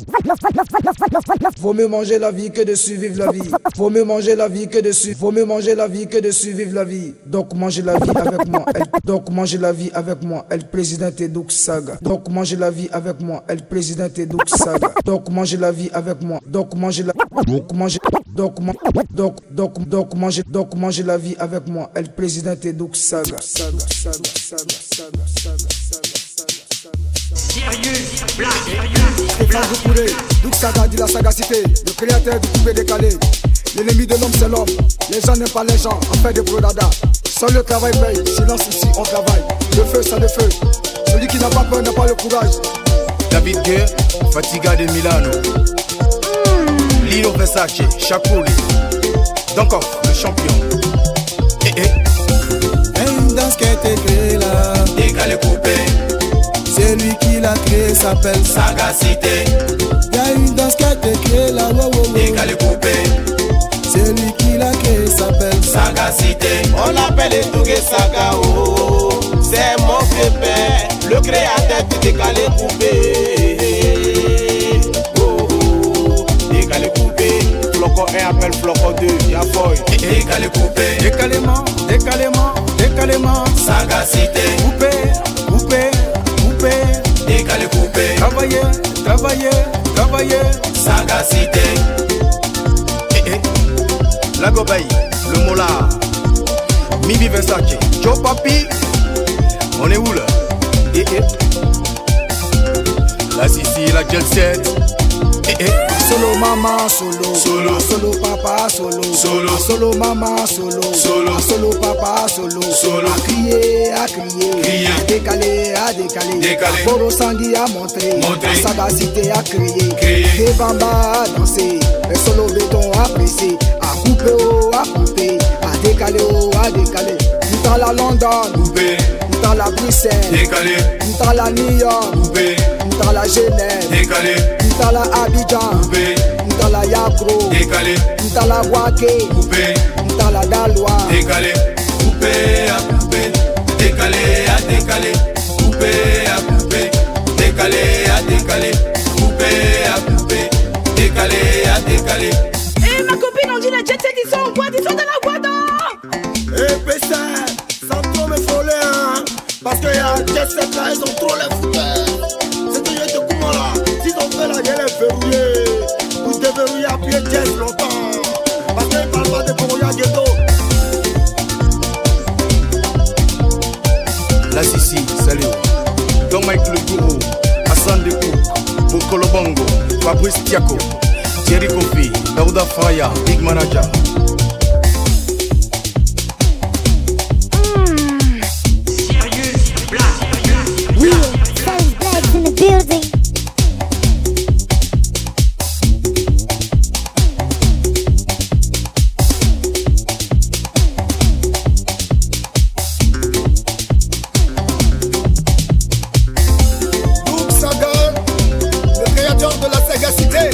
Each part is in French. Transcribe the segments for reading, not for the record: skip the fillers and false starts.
Vaut mieux manger la vie que de survivre la vie. Vaut mieux manger la vie que de survivre. Vaut mieux manger la vie que de survivre la vie. Donc mangez la vie avec moi. Donc mangez la vie avec moi. El Presidente Duk Saga. Donc mangez la vie avec moi. El Presidente Duk Saga. Donc mangez la vie avec moi. Donc mangez la. Donc mangez la vie avec moi. El Presidente Duk Saga. Stéphane Doucouré, Duk Saga dit la sagacité, le créateur du coupé décalé. L'ennemi de l'homme c'est l'homme, les gens n'aiment pas les gens, on fait des brodada. Seul le travail paye, silence ici on travaille. Le feu c'est le feu, celui qui n'a pas peur n'a pas le courage. David Guerre, Fatiga de Milano, Lilo Versace, Chakoli, Donkov, le champion. Une danse qui a été créée là, Décalé coupé, c'est lui qui l'a créé, s'appelle sagacité. Y'a une danse qui a été créée là, Décalé coupé, c'est lui qui l'a créé, s'appelle sagacité. On l'appelle Tougué Saga, oh, c'est mon pépère, le créateur du décalé coupé. Oh, oh, décalé coupé, flocon 1 appelle flocon 2, y'a boy. Décalé coupé, décalément, décalément, décalément, sagacité. coupé, coupé, coupé, Décalé coupé, travailler, travailler, travailler, sagacité. La Gobaï, le Mola, Mimi Versace, Joe Papi, on est où là? La Sissi, la Jet Set. Solo maman, solo, Solo. solo papa, solo, Solo. solo maman, solo, Solo. solo papa, solo, Solo. à crier, Crier. à décaler, à décaler, Décaler. Boro Sangui à montrer, Montrer. la sagacité à crier, Crier. et Bamba à danser, et solo béton à presser, à couper, oh, à couper, à décaler, oh, à décaler, dans la London, Coupé, dans la Bruxelles, décalé, dans la New York, coupé, dans la Genève, décalé, dans la Abidjan, coupé, dans la Yagro, décalé, dans la Wake, coupé, dans la Daloa, décalé, coupé à coupé, décalé à décalé, coupé à coupé, décalé à décalé, coupé à coupé, décalé à décalé. Eh ma copine on dit les jet set ils sont en boîte, ils sont dans la boîte. Eh Pessin, sans trop me frôler, hein, parce que y'a jet set là, ils ont trop les fouteurs. C'est que je te coupe là, s'ils ont fait la gueule, les verrouiller. Vous déverrouillez à pied jazz longtemps, parce qu'ils parlent pas de Koroya Ghetto. La Sissi, salut. Don Mike le Gourou, Hassan Dekou, Bokolo Bongo, Fabrice Tiako, Thierry Kofi, Daouda Faya, Big Manager. First Blacks in the building. Duk Saga, le créateur de la sagacité.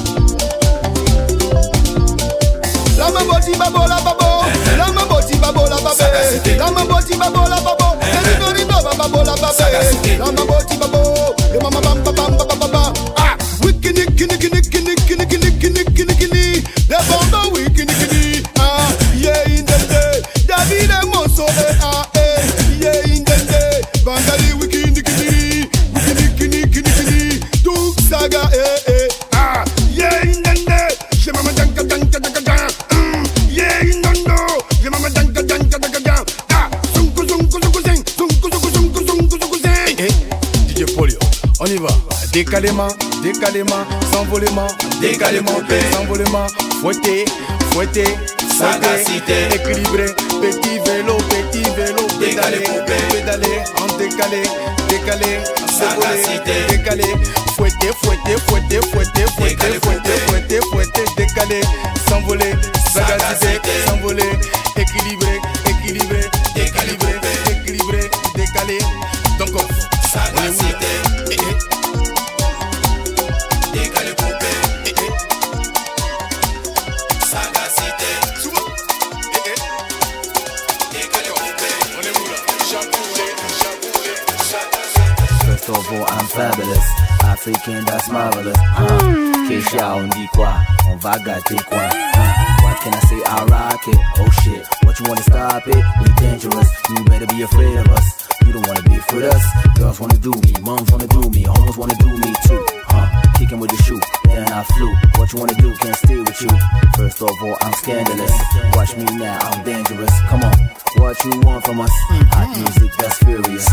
La maboti babo la babo, la maboti babo la babé, la maboti babo la babo, le babo la babé, la maboti babo, le mama bam bam bam bam bam bam. Ah, wikini kini kini kini kini kini kini kini kini, the bamba wikini kini. Ah, yeah in the day, David and Monso ah yeah in the day, Bangali wikini kini, wikini kini kini kini, Duk Saga ah yeah in the day, je mama danka danka danka danka. Yeah, no, je mama danka danka danka danka. Ah, zungu zungu zungu zing, zungu zungu zungu zungu zungu zing. DJ Polio, on y va. Décalément, décalément, s'envolement, décalément, s'envolement, fouetté, fouetté, sagacité, équilibré, petit vélo, pédalé, pédalé, en décalé, décalé, sagacité, décalé, fouetté, fouetté, fouetté, fouetté, fouetté, fouetté, fouetté, fouetté, décalé, s'envoler, sagacité, s'envoler, équilibré, équilibré, équilibré, équilibré, décalé, donc sagacité. Décalé coupé, sagacité. Décalé coupé, on est où là? Chamboulé, chamboulé, sagacité. First of all, I'm fabulous. I africaine, that's marvelous. Keisha, on dit quoi? On va gâter quoi? What can I say? I rock it. Oh shit, what you wanna stop it? We dangerous, you better be afraid of us. You don't wanna be afraid of us. Girls wanna do me, moms wanna do me, homies wanna do me too. Kicking with the shoe, then I flew. What you wanna do, can't stay with you. First of all, I'm scandalous. Watch me now, I'm dangerous. Come on, what you want from us? Hot music, that's furious.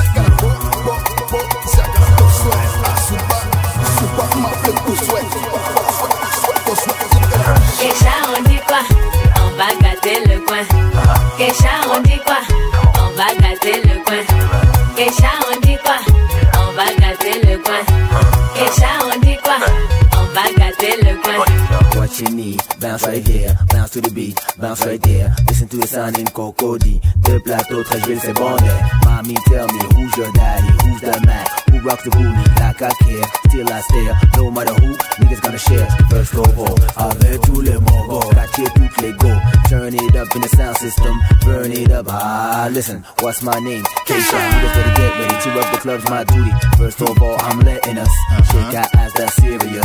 Keisha, on dit quoi? On va gâter le coin. Keisha, on dit quoi? On va gâter le coin. Keisha, on dit quoi? On va gâter le coin. Keisha, on dit quoi? On va gâter le coin. What you need, bounce right here, bounce to the beat, bounce right there. Listen to the sound in Cocody. Deux plateaux, 13 villes, c'est bon there. Mommy, tell me, who's your daddy, who's the man? Who rocks the booty like I care? Still I stare, no matter who, niggas gonna share. First of all, avec tous les mogos, catcher toutes les go. Turn it up in the sound system, burn it up. Listen, what's my name? Keisha, niggas better get ready to rock the club's my duty. First of all, I'm letting us shake our ass, that's serious.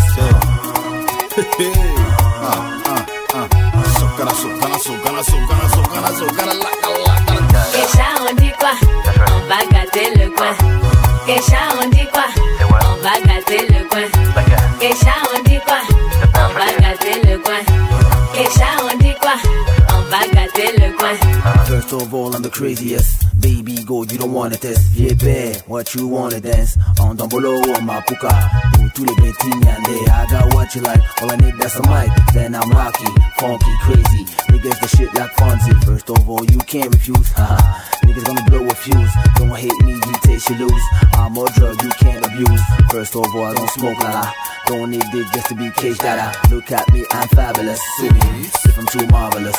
Keisha, on dit quoi? On va gâter le coin. Keisha, on dit quoi? On va gâter le coin. Keisha, on dit quoi? On va gâter le coin. Keisha, on dit quoi? On va gâter le coin. First of all, I'm the craziest. Baby, go, you don't wanna test. Yeah, bad, what you wanna dance? On Dombolo or Mapuka. Pour tous les petits nyandé. I got what you like, all I need that's a mic. Then I'm rocky, funky, crazy. Niggas the shit like Fonzie. First of all, you can't refuse. Niggas gonna blow a fuse. Don't hate me, you taste you lose. I'm a drug you can't abuse. First of all, I don't smoke la. Don't need this just to be caged dada. Look at me, I'm fabulous. See me, if I'm too marvelous.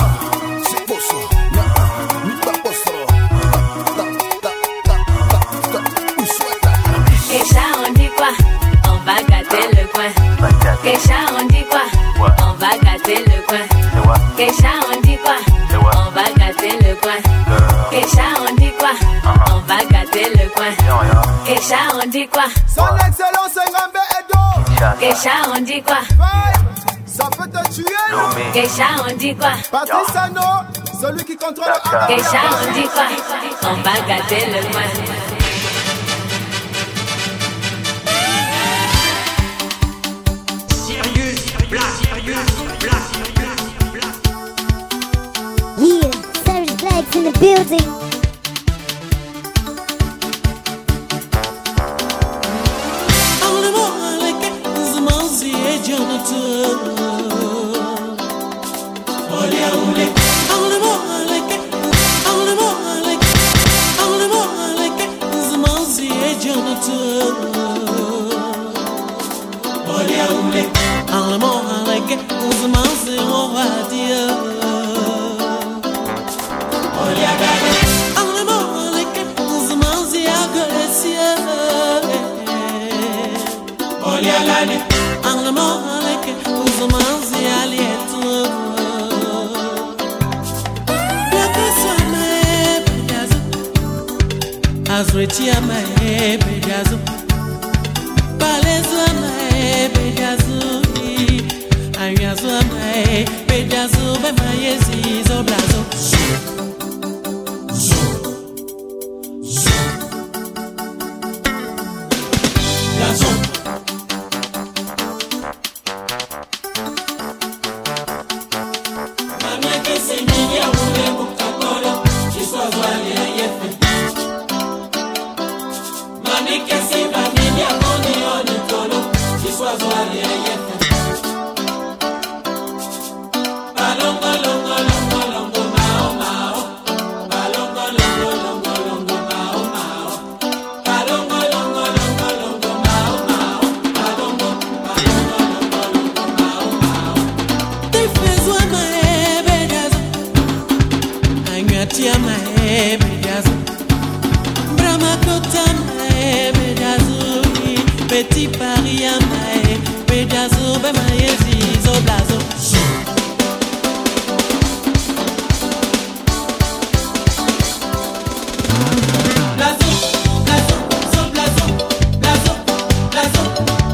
Keisha, on dit quoi? On va gâter le coin. Keisha, on dit quoi? On va gâter le coin. Keisha, on dit quoi? On va gâter le coin. Keisha, on dit quoi? On va gâter le coin. Keisha, on dit quoi? Son excellence Ngambe Edo. Keisha, on dit quoi? Ça peut te tuer. Keisha, on dit quoi? Patrice Ano, celui qui contrôle le Keisha, on dit quoi? On va gâter le coin. Yeah, Savage Black's in the building. Azretia mae bedazo Balezwa mae bedazo Ayazwa mae bedazo Be mae zizo blazo Blazo Mamia kese minya ule mukakolo Chiswa zwali ya yefe Mami kesi familia moni oni tolo Chiswa zwali ya yefe Balongo longo longo longo mao mao Balongo longo longo longo mao mao Balongo longo longo longo mao mao Balongo balongo longo longo mao mao Tifezwa maebedazo Anyatia maebedazo Brahma kota maebedazo Petit Paris ya maebedazo Be maezizo blazo Blazo, blazo, zo blazo, blazo, blazo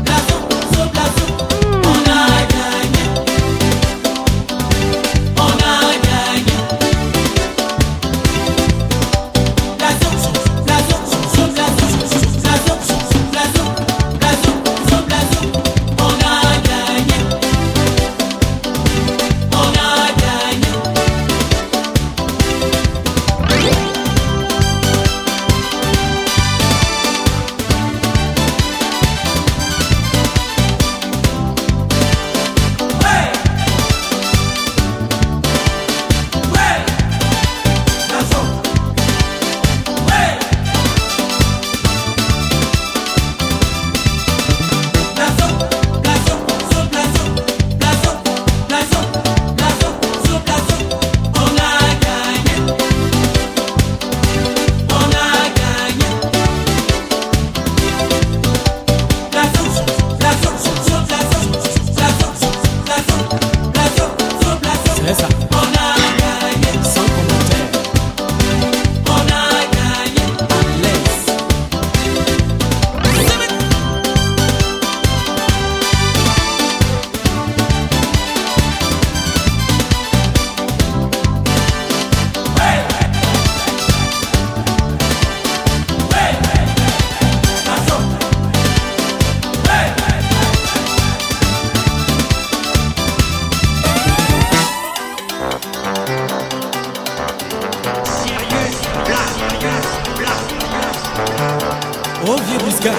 Oscar.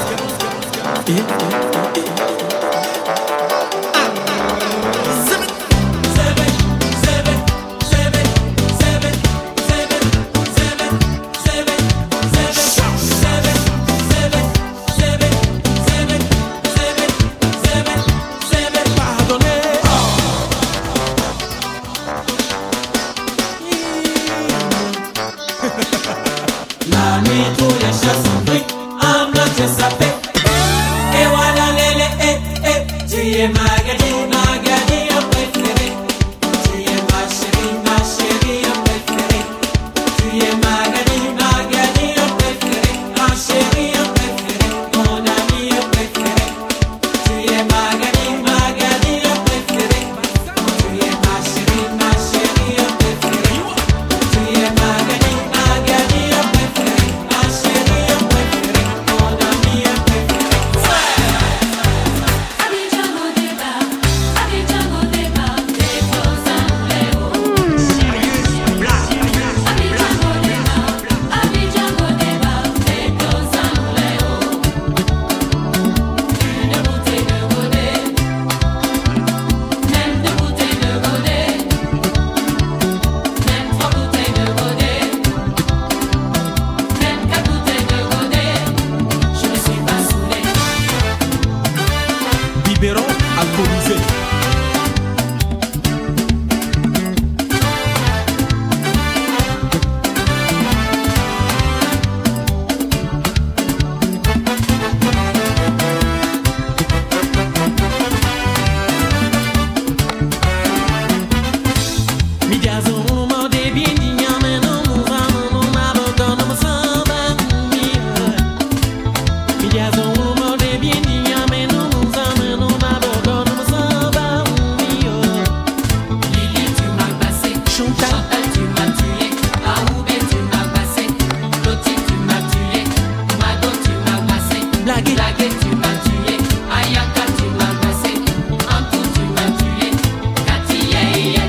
La nuit tous les chats sont pris, en blanc je sapé. Et voilà lélé, tu es Magali, Magali en préféré. Tu es ma chérie en préféré. Tu es Magali, Magali en préféré. Ma chérie en préféré, mon ami en préféré. Tu es Magali, Magali en préféré. Tu es ma chérie en préféré. Tu es Magali, Magali en préféré. Ma chérie en préféré, mon ami en préféré. Abidjan au débat, des choses à Léo. Abidjan au débat, des choses à Léo. Une bouteille de godet, même deux bouteilles de godet, même trois bouteilles de godet, même quatre bouteilles de godet. Je ne suis pas saoulé. Biberon alcoolisé. Lili, tu m'as passé. Chantal, tu m'as tué. Aoubé, tu m'as passé. Loti, tu m'as tué. Mado, tu m'as passé. Blagué, tu m'as tué. Ayaka, tu m'as passé. Antou, tu m'as tué. Kati, yeah.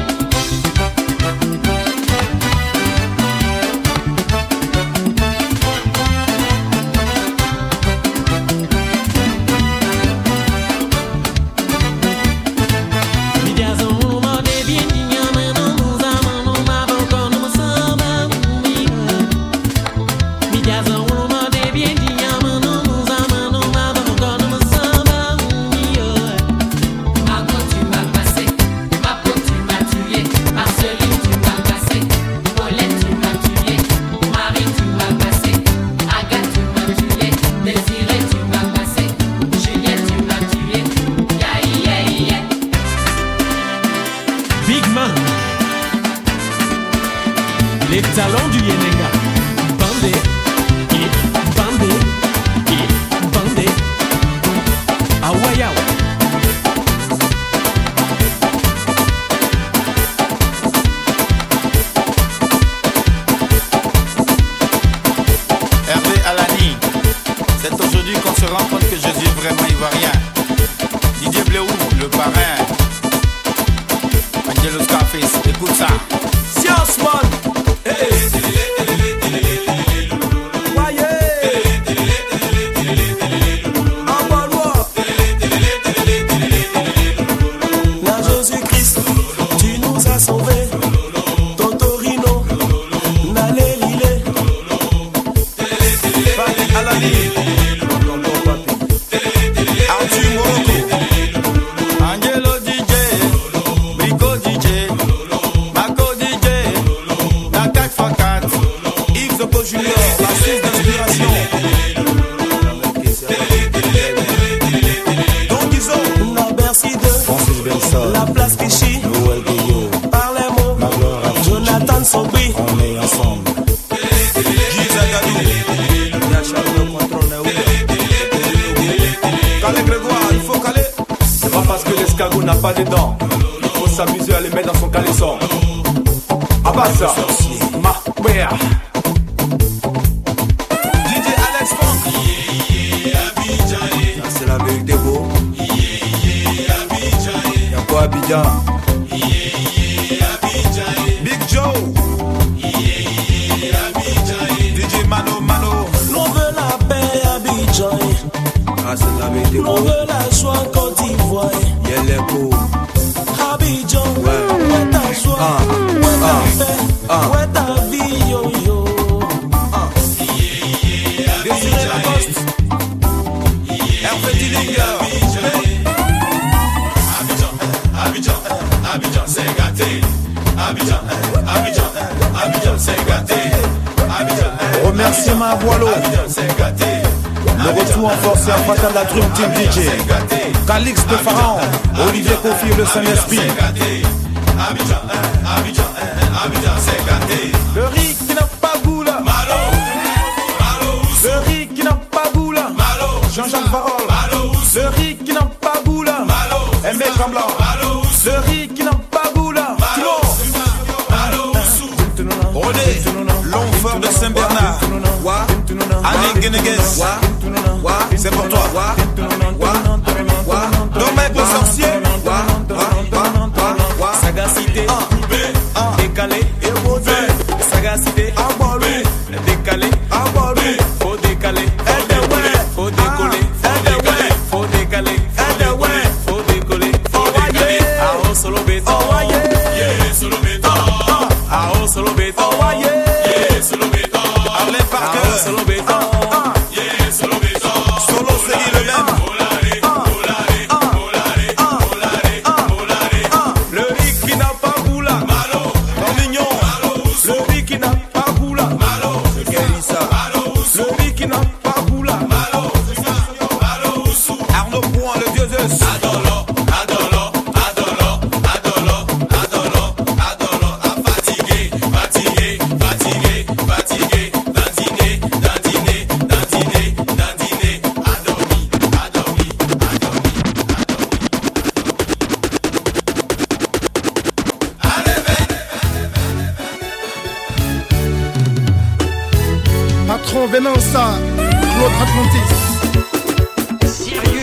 Margot, tu m'as passé. Mapo, tu m'as tué. Marceline, tu m'as passé. Paulette, tu m'as tué. Marie, tu m'as passé. Agathe, tu m'as tué. Désirée, tu m'as passé. Juliette, tu m'as tué. Yeah. Big Man. Les talents du Yenenga. Bandé. Bandé. Bandé. Awayao. Hervé Alani, c'est aujourd'hui qu'on se rend compte que Jésus est vraiment ivoirien. Didier Bléou, le parrain. Angelo Scarface, écoute ça. Science Man. La Jésus-Christ, tu nous as sauvés. Totorino, Nalé Lilé. Papi Alani, Arthur Morocco, Angelo DJ, Brico DJ, Marco DJ, Nakat Fakat, Yves Zopo Junior, la source d'inspiration. Donc ils ont La Bercy 2, Francis Bensol, la place Vichy. Noël Guillot, Par les mots, Jonathan Sobri. on est ensemble. Guy Zagadou, Calais Grégoire, il faut caler. C'est pas parce que l'escargot n'a pas de dents, il faut s'amuser à les mettre dans son caleçon. Abassa, ma wea. DJ Alex Funk, ça c'est la vérité beau. Y'a quoi Abidjan? Big Joe, DJ Mano Mano. L'on veut la paix, Abidjan. On veut la joie Côte d'Ivoire. Abidjan, où est ta joie, où est ta paix, où est ta vie, yo yo. Désiré Lacoste, Hervé Dillinger. Abidjan, Abidjan, c'est gâté. Abidjan, c'est gâté. Remerciement à Boileau. Le retour en force et en fatal de la Drum Team DJ. Calix de Pharaon, Olivier Kofi, le Saint-Esprit. Abidjan, c'est gâté. Le riz qui n'a pas goût là. Le riz qui n'a pas goût là. Jean-Jacques Varol. Le riz qui n'a pas goût là. Aimé Kambla. Le riz qui n'a pas goût là. René, l'enfant de Saint-Bernard. Anne Geneguez. C'est pour toi. Dommage le sorcier. Sagacité, décalé, sagacité, décalé, faut décaler, faut décoller, faut décaler, faut décoller, ah solo béton, solo béton, ah solo béton, solo béton, Arlène Parker, solo béton, solo béton, solo c'est le même. le riz qui n'a pas goût là, Mignon, le riz qui n'a pas goût là, le riz qui n'a pas goût là, Arnaud Point, le dieu Zeus. Patron Venança, Claude Atlantis.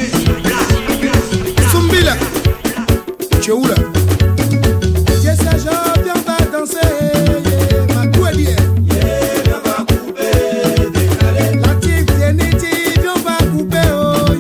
Zumbila, tu es où là? Yes, je viens pas danser, ma couelière. Viens va couper, décaler. La tique Zeniti, viens va couper, oh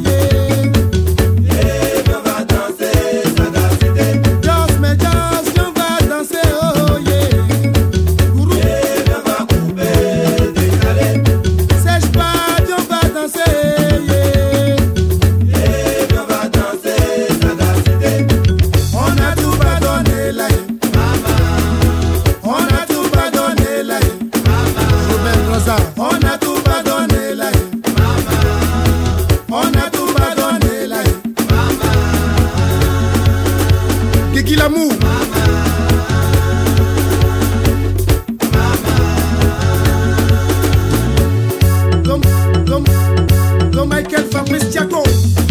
yeah. Viens va danser, sagacité. Just mais just, viens va danser, oh yeah. Gourou, viens va couper, décaler. Sèche pas, viens va danser, yeah. Viens va danser, sagacité. On a tout pardonné là, maman. On a tout pardonné là, maman. Robert Rosa, on a tout pardonné là, maman. On a tout pardonné là, maman. Kiki l'amour, Dom Michael Fabrice Thiago,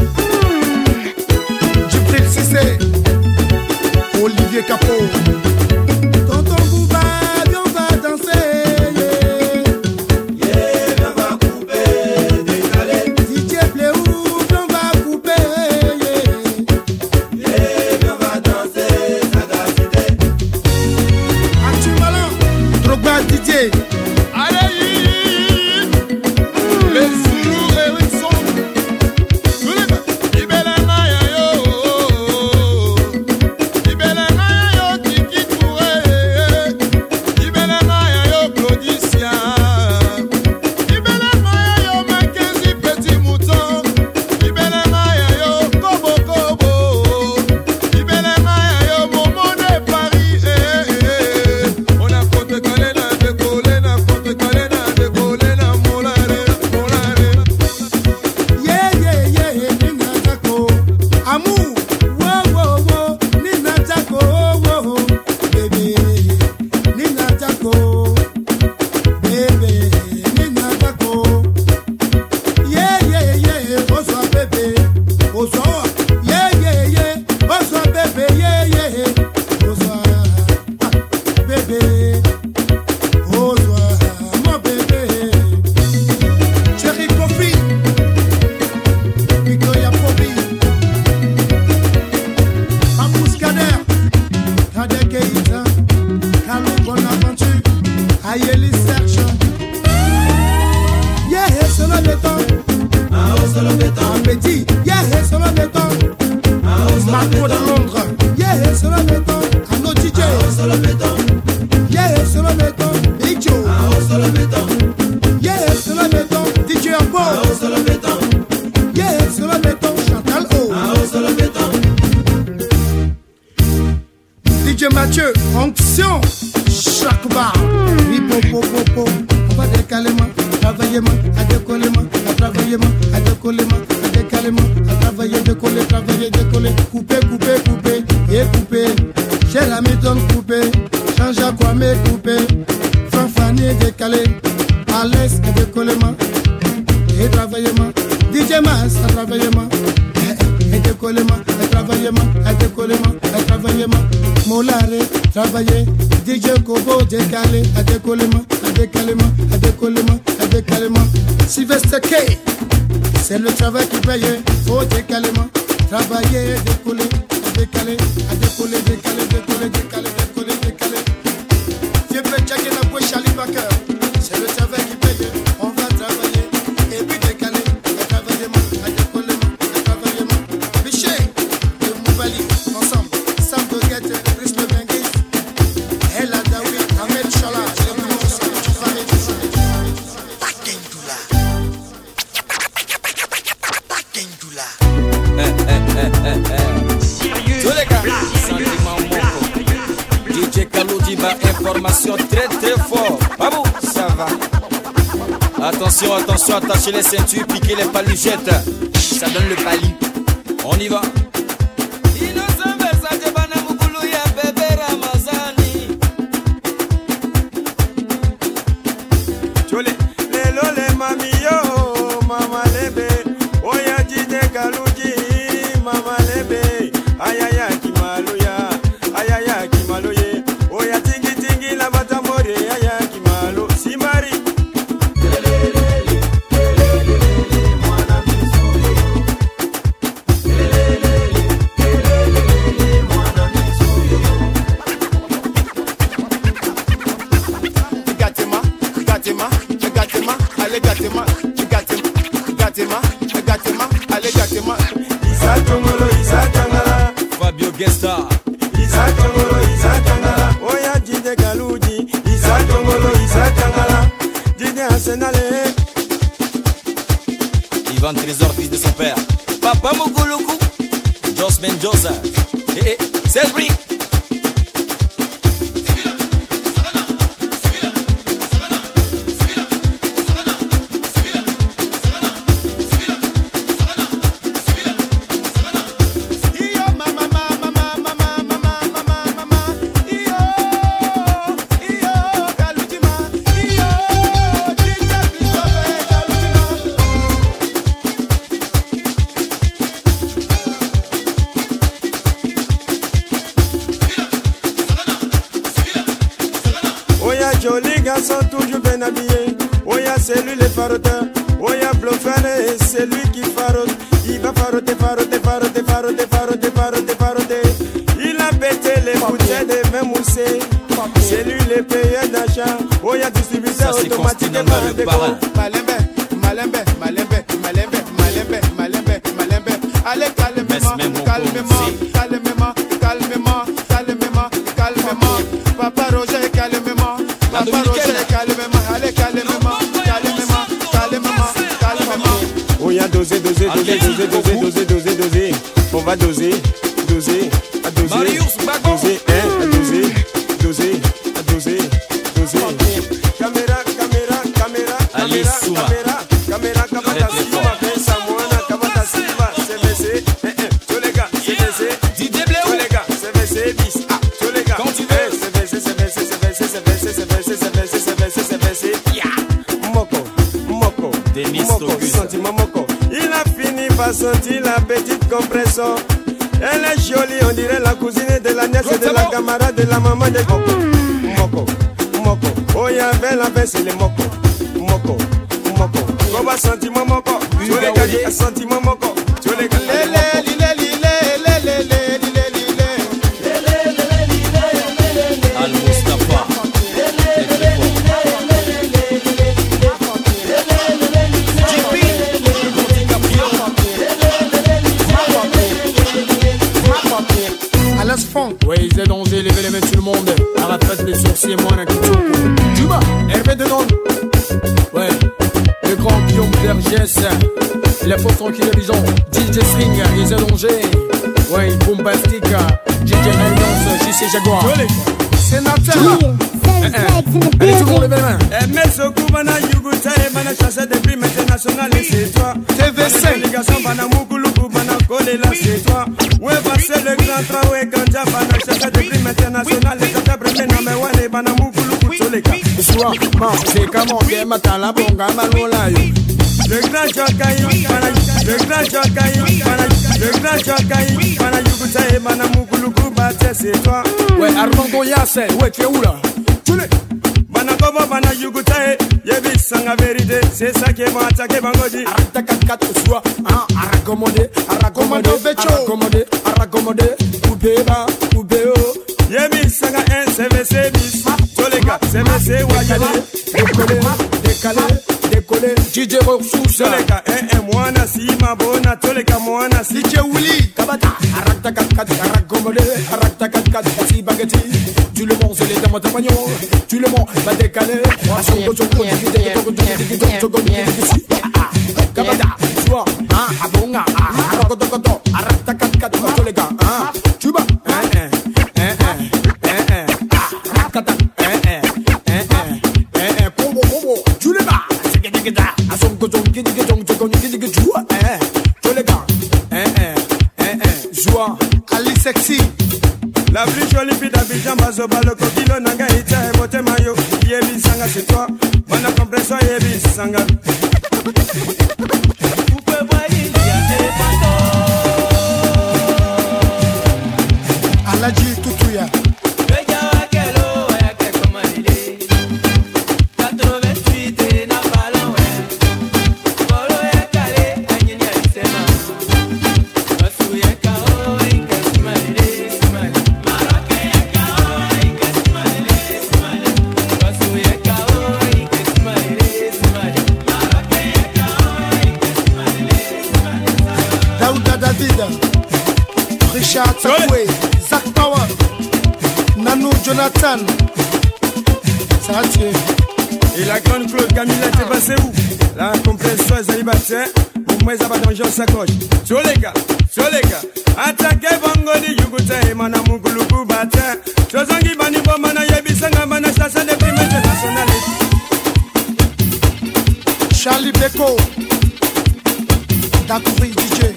Djibril Cissé, Olivier Capot. Tonton Bouba, viens va danser, yeah. Viens va couper, décaler. DJ Pléou, viens va couper, yeah. Viens va danser, sagacité. Marco de Londres. Yeah, c'est le béton. Anno DJ. C'est le béton. Yeah, c'est le béton. Big Joe. C'est le béton. Yeah, c'est le béton. DJ Ambo. C'est le béton. Yeah, c'est le béton. Chantal O. C'est le béton. DJ Mathieu. Onction. Chaque bar. Oui, po. On va décaler ma. Travailler ma. À décoller ma. À travailler ma. À décoller ma. À décaler ma. À travailler, décoller, travailler, décoller. Couper. Et couper. Chez la méthode couper. Change à quoi mais couper. Fanfani décaler. À l'aise et décoller ma. Et travailler ma. DJ Mas à travailler ma. Et décoller ma. Et travailler ma. Et décoller ma. Et travailler ma. Molare travailler. DJ Kobo décaler. À décoller ma. À décaler ma. À décoller ma. À décaler ma. Sylvester K. C'est le travail qui paye. Faut décaler ma. Travailler, décoller. Décaler, à décoller, décaler. Viens faire checker la bouche Charlie Baker. C'est le travail qui paye, on va travailler. Et puis décaler, à travailler, à décoller, à travailler. Michel, et Moubali, ensemble. Sam Doguette, Brice Le Benguis. Ella Daoui, Ahmed Chala, les Moussa, Tous les gars, sentiment moko. DJ Kaloudi va information très fort. Babou, ça va. Attention, attachez les ceintures, piquez les paluchettes. Ça donne le pali. On y va. Chole, lelo le mami yo, mama lebe. Oya DJ Kaloudi, mama lebe. Ayaya kimaloya, ayaya kimaloye. Oya tingi la batamore, ayaya kimalo. Simari. Fabio Gesta. Isa Tangala. Oya DJ Kaloudi. Isa Tangala. DJ Arsenal. Ivan Trésor, fils de son père. Papa Mokoloku. Jos Mendoza. Cédric. Jolis garçons toujours bien habillés. Oya c'est lui le faroteur. Oya Blofane c'est lui qui farote. Il va faroter. Il a pété les bouteilles de vin moussé. C'est lui le payeur d'achat. Oya distributeur automatique et Malembe. Allez calmement. Papa Roger calmement. Allez calmement. On y a doser. On va doser. Caméra. Il a fini par sentir la petite compression. Elle est jolie, on dirait la cousine de la nièce de la camarade de la maman de Moko. Oh, il y avait la baisse, c'est les Moko. Comment sentiment Moko? Tu les gars, sentiment Moko. Tu les gars, Alas Funk. Ouais, ils aient danger, levez les mains tout le monde. Arafat les sourcils, moi, un couteau. Juba, Hervé Dedon. Ouais, le grand Guillaume Vergès. Les faux tranquilles de Bison. DJ String, ils aient danger. Ouais, Bombastic. DJ Alliance, JC Jaguar. Sénateur. Allez, tout le monde, levez les mains. Mesoku bana yuguta e bana chasse des primes internationales et c'est toi. TV5. Les garçons bana mukuluku bana collé là c'est toi. Ouais passer le grand travail quand j'ai bana chasse des primes internationales et t'as premier number one et bana mukuluku tous les cas. Soir, c'est comment que matin la bonga malola yo. Le grand Jokaï, le grand Jokaï, le grand Jokaï, bana yuguta e bana mukuluku batte c'est toi. Ouais Armando Yasse, ouais tu es où là? Banakobo bana yugutae, yebi sanga vérité, c'est ça qui est bon attaquer bangodi. Arrête 4 soit, aracommodé, Oubeba, Oubeo. Yebi sanga un CVC bis, Tolega, CVC Wayale, décollé, DJ Roxous. Tolega, mwana si mabona, Tolega mwana si Willy, Kabata, Arrête 4, aracommodé, Arrête 4, si baguetti. Tu le montes, c'est les dames de pagnon. Tu le montes, va décaler. Kabata, soir, abonga, aracotocoto, Arrête 4, les gars, tu vas, tu le bats, à son coton, qui dit que tu vois, tu les gars, joie, Ali Sexy. la plus jolie fille d'Abidjan, Bazoba, le coquille, Nanga, Ita, et Bote Mayo. Yebi Sanga, c'est toi. Mana compression, Yebi Sanga. Aladji Tutuya. Richard Sakwe, Zach Power, Nanou Jonathan, ça a tué. Et la grande Claude Camilla, t'es passé où? La compression est célibataire, pour moi, ça va danger en sacoche. Sur les gars, attaquez Bangoli, Yuguta et Mana Muguluku Bata. Chozangi Bani Bomana Yabisanga, Mana Chassa des primes internationales. Charlie Beko, Dakouri DJ.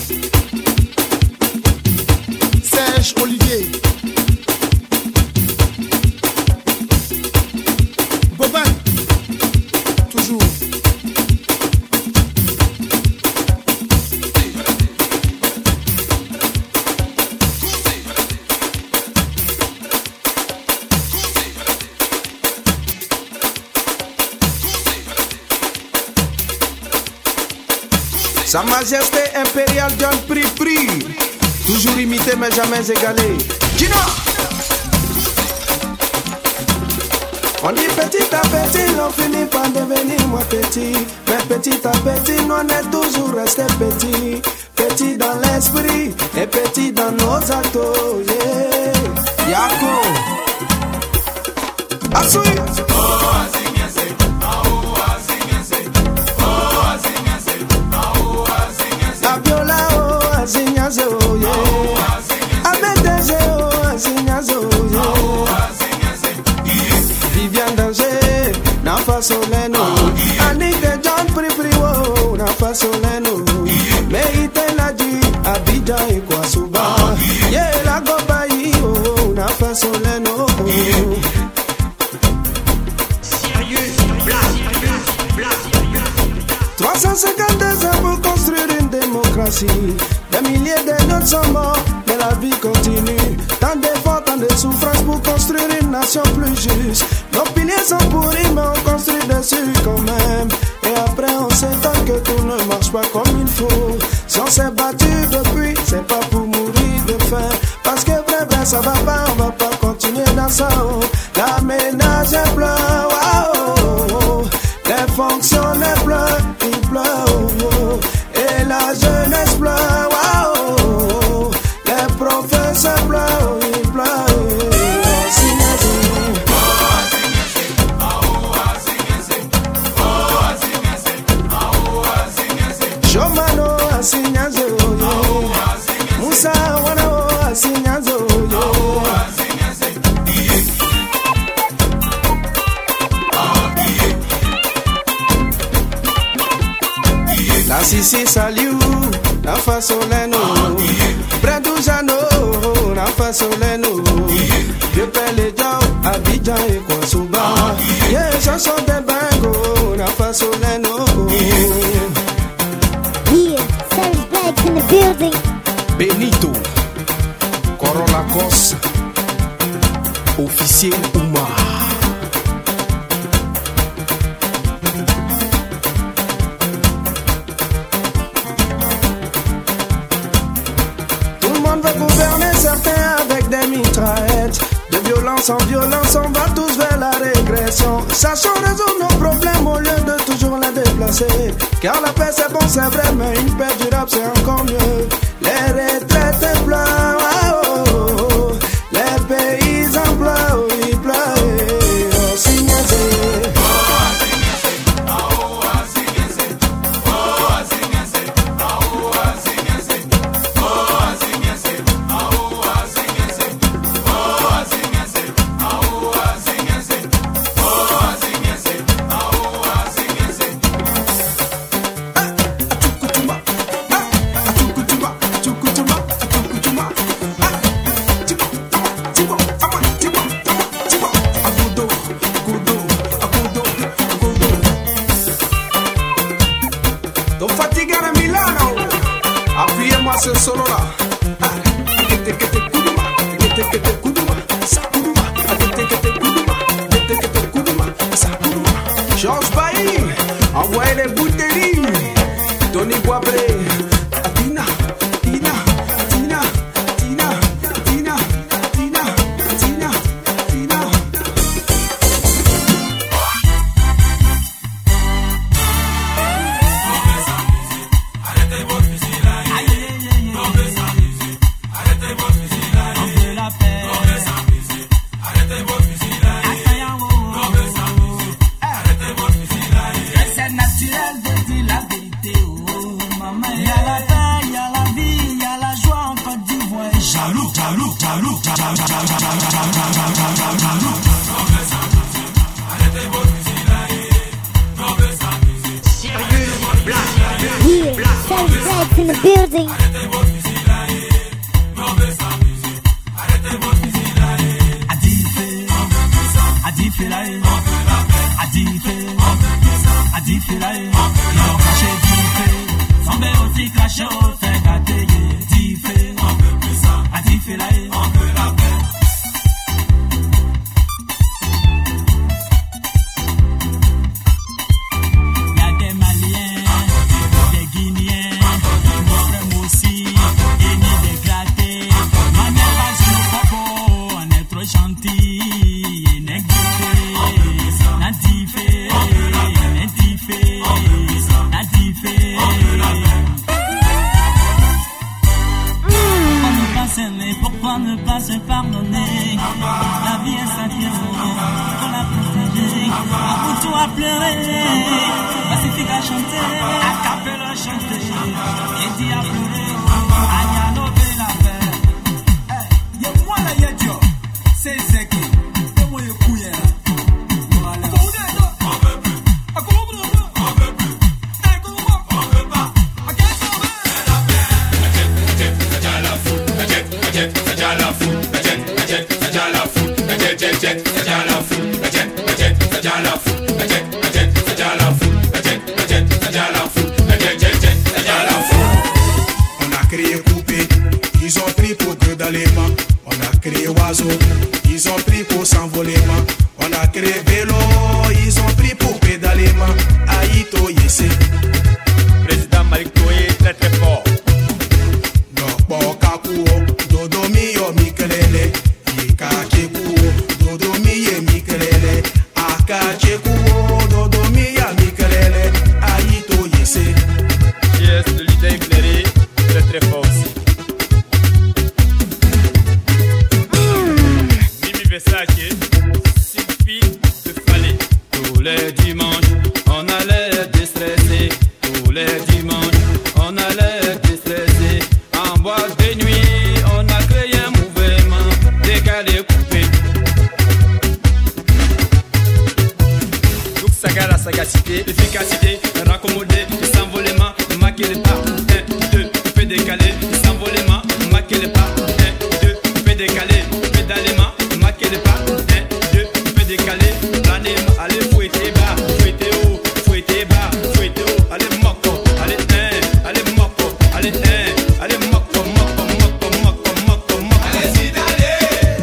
Serge Olivier, Bobin, toujours. Sa Majesté impériale John Pri. Toujours imité mais jamais égalé. Gina! On dit petit à petit, on finit par devenir moins petit. Mais petit à petit, on est toujours resté petit. Petit dans l'esprit et petit dans nos actes. Yeah. Yako! Asui! Abiola, oh, Azinyaze, oh, yeah. Abedeze, oh, Azinyaze, oh, yeah. Viviane Danger, na fasoleno. Annick de John Pri, oh, na fasoleno. Meite Nadi, Abidjan et Kwasuba. Yeah, la Gobayi, oh, na fasoleno. Sérieux, 352 ans pour construire une démocratie. Des milliers de notes sont morts, mais la vie continue. Tant d'efforts, tant de souffrances pour construire une nation plus juste. Nos piliers sont pourris, mais on construit dessus quand même. Et après on s'étonne que tout ne marche pas comme il faut. Si on s'est battu depuis, c'est pas pour mourir de faim. Parce que vrai, ça va pas, on va pas continuer dans ça. Oh. La ménage pleure, wow. Les fonctionnaires pleurent, ils pleurent, oh. Et la jeunesse pleure, wow. Les profs feu se pleure, il pleure. Shomano asinyazo yo, Musa wano asinyazo yo. La Sissi saliu, la fasoleno, Bredujano, la fasoleno, Vieux Pélédiao, Abidjan et Kouassouba, yeah, chanson de Bango, la fasoleno. Yeah, Savage Blacks in the building. Benito, Corolla Cos, Officier Ouma. Tout le monde veut gouverner, certains avec des mitraillettes. De violence en violence, on va tous vers la régression. Sachons résoudre nos problèmes au lieu de toujours les déplacer. Car la paix c'est bon, c'est vrai, mais une paix durable c'est encore mieux. Les retraités pleurent, oh, oh, oh. Les paysans pleurent, ils pleurent. Oh, signez-y. Ce solo là, Georges Bailly, envoyez les bouteilles, Tony Boisbré, Tina, Tina, Tina, Tina, Tina, Tina, Tina, Tina. Arrêtez votre fusil là. Arrêtez votre fusil là. On veut la paix. Arrêtez votre fusil là. Arrêtez votre fusil là. C'est naturel de dire la vérité, oh maman. Il y a la paix, il y a la vie, il y a la joie en Côte d'Ivoire. Jaloux, jaloux, jaloux, jaloux, jaloux. Arrêtez votre fusil là. On veut s'amuser. Sérieux, blague. Yeah, Savage Blacks in the building. Arrêtez votre fusil là. On veut s'amuser. Arrêtez votre fusil là. Adifé là, Adifé là, ils ont craché Difé. Sambé aussi craché au fait gâté, Difé. Adifé là, on veut la paix. Y'a des Maliens, des Guinéens, nos frères aussi, et ni des grattés. Ma mère va sur le propos, on est trop gentil, et négligé. Nadifé, Nadifé, Nadifé. Pourquoi ne pas s'aimer, pourquoi ne pas se pardonner? La vie est sacrée, faut la protéger. À bout tout à pleurer, pacifique à chanter, à capella chanter, et dit à pleurer, à dialoguer la paix. Y'a moi là, y'a Dieu, c'est Zeki, et moi y'a Kouya. On a créé poupée, ils ont pris pour que dans les mains. On a créé oiseau, ils ont pris pour s'envoler main. On a créé vélo, ils ont pris pour pédaler main. Aïto Yessé. Président Malik Toye, très très fort. Dokbo Kakuo, Dodomi yo Mikelele. Ika Chekuo, Dodomi ye Mikelele. Aka Chekuo, Dodomi ya Mikelele. Aïto Yessé. Yes, le leader éclairé, très très fort aussi. lâché, suffit de fallait. Tous les dimanches, on allait déstresser. Tous les dimanches, on allait déstresser. En boîte de nuit, on a créé un mouvement décalé, coupé. Donc saga la sagacité, l'efficacité, raccommoder, s'envolement, maquer les pas. 1, 2, fait décaler, s'envolement, maquer les pas. 1, 2, fait décaler, pédalement, maquer les pas. 1, 2, fait décaler, planer, allez fouetter bas, fouetter haut, fouetter bas, fouetter haut, allez moko, allez 1, allez moko, allez 1, allez moko, moko, moko, moko, moko, moko. Allez sidale,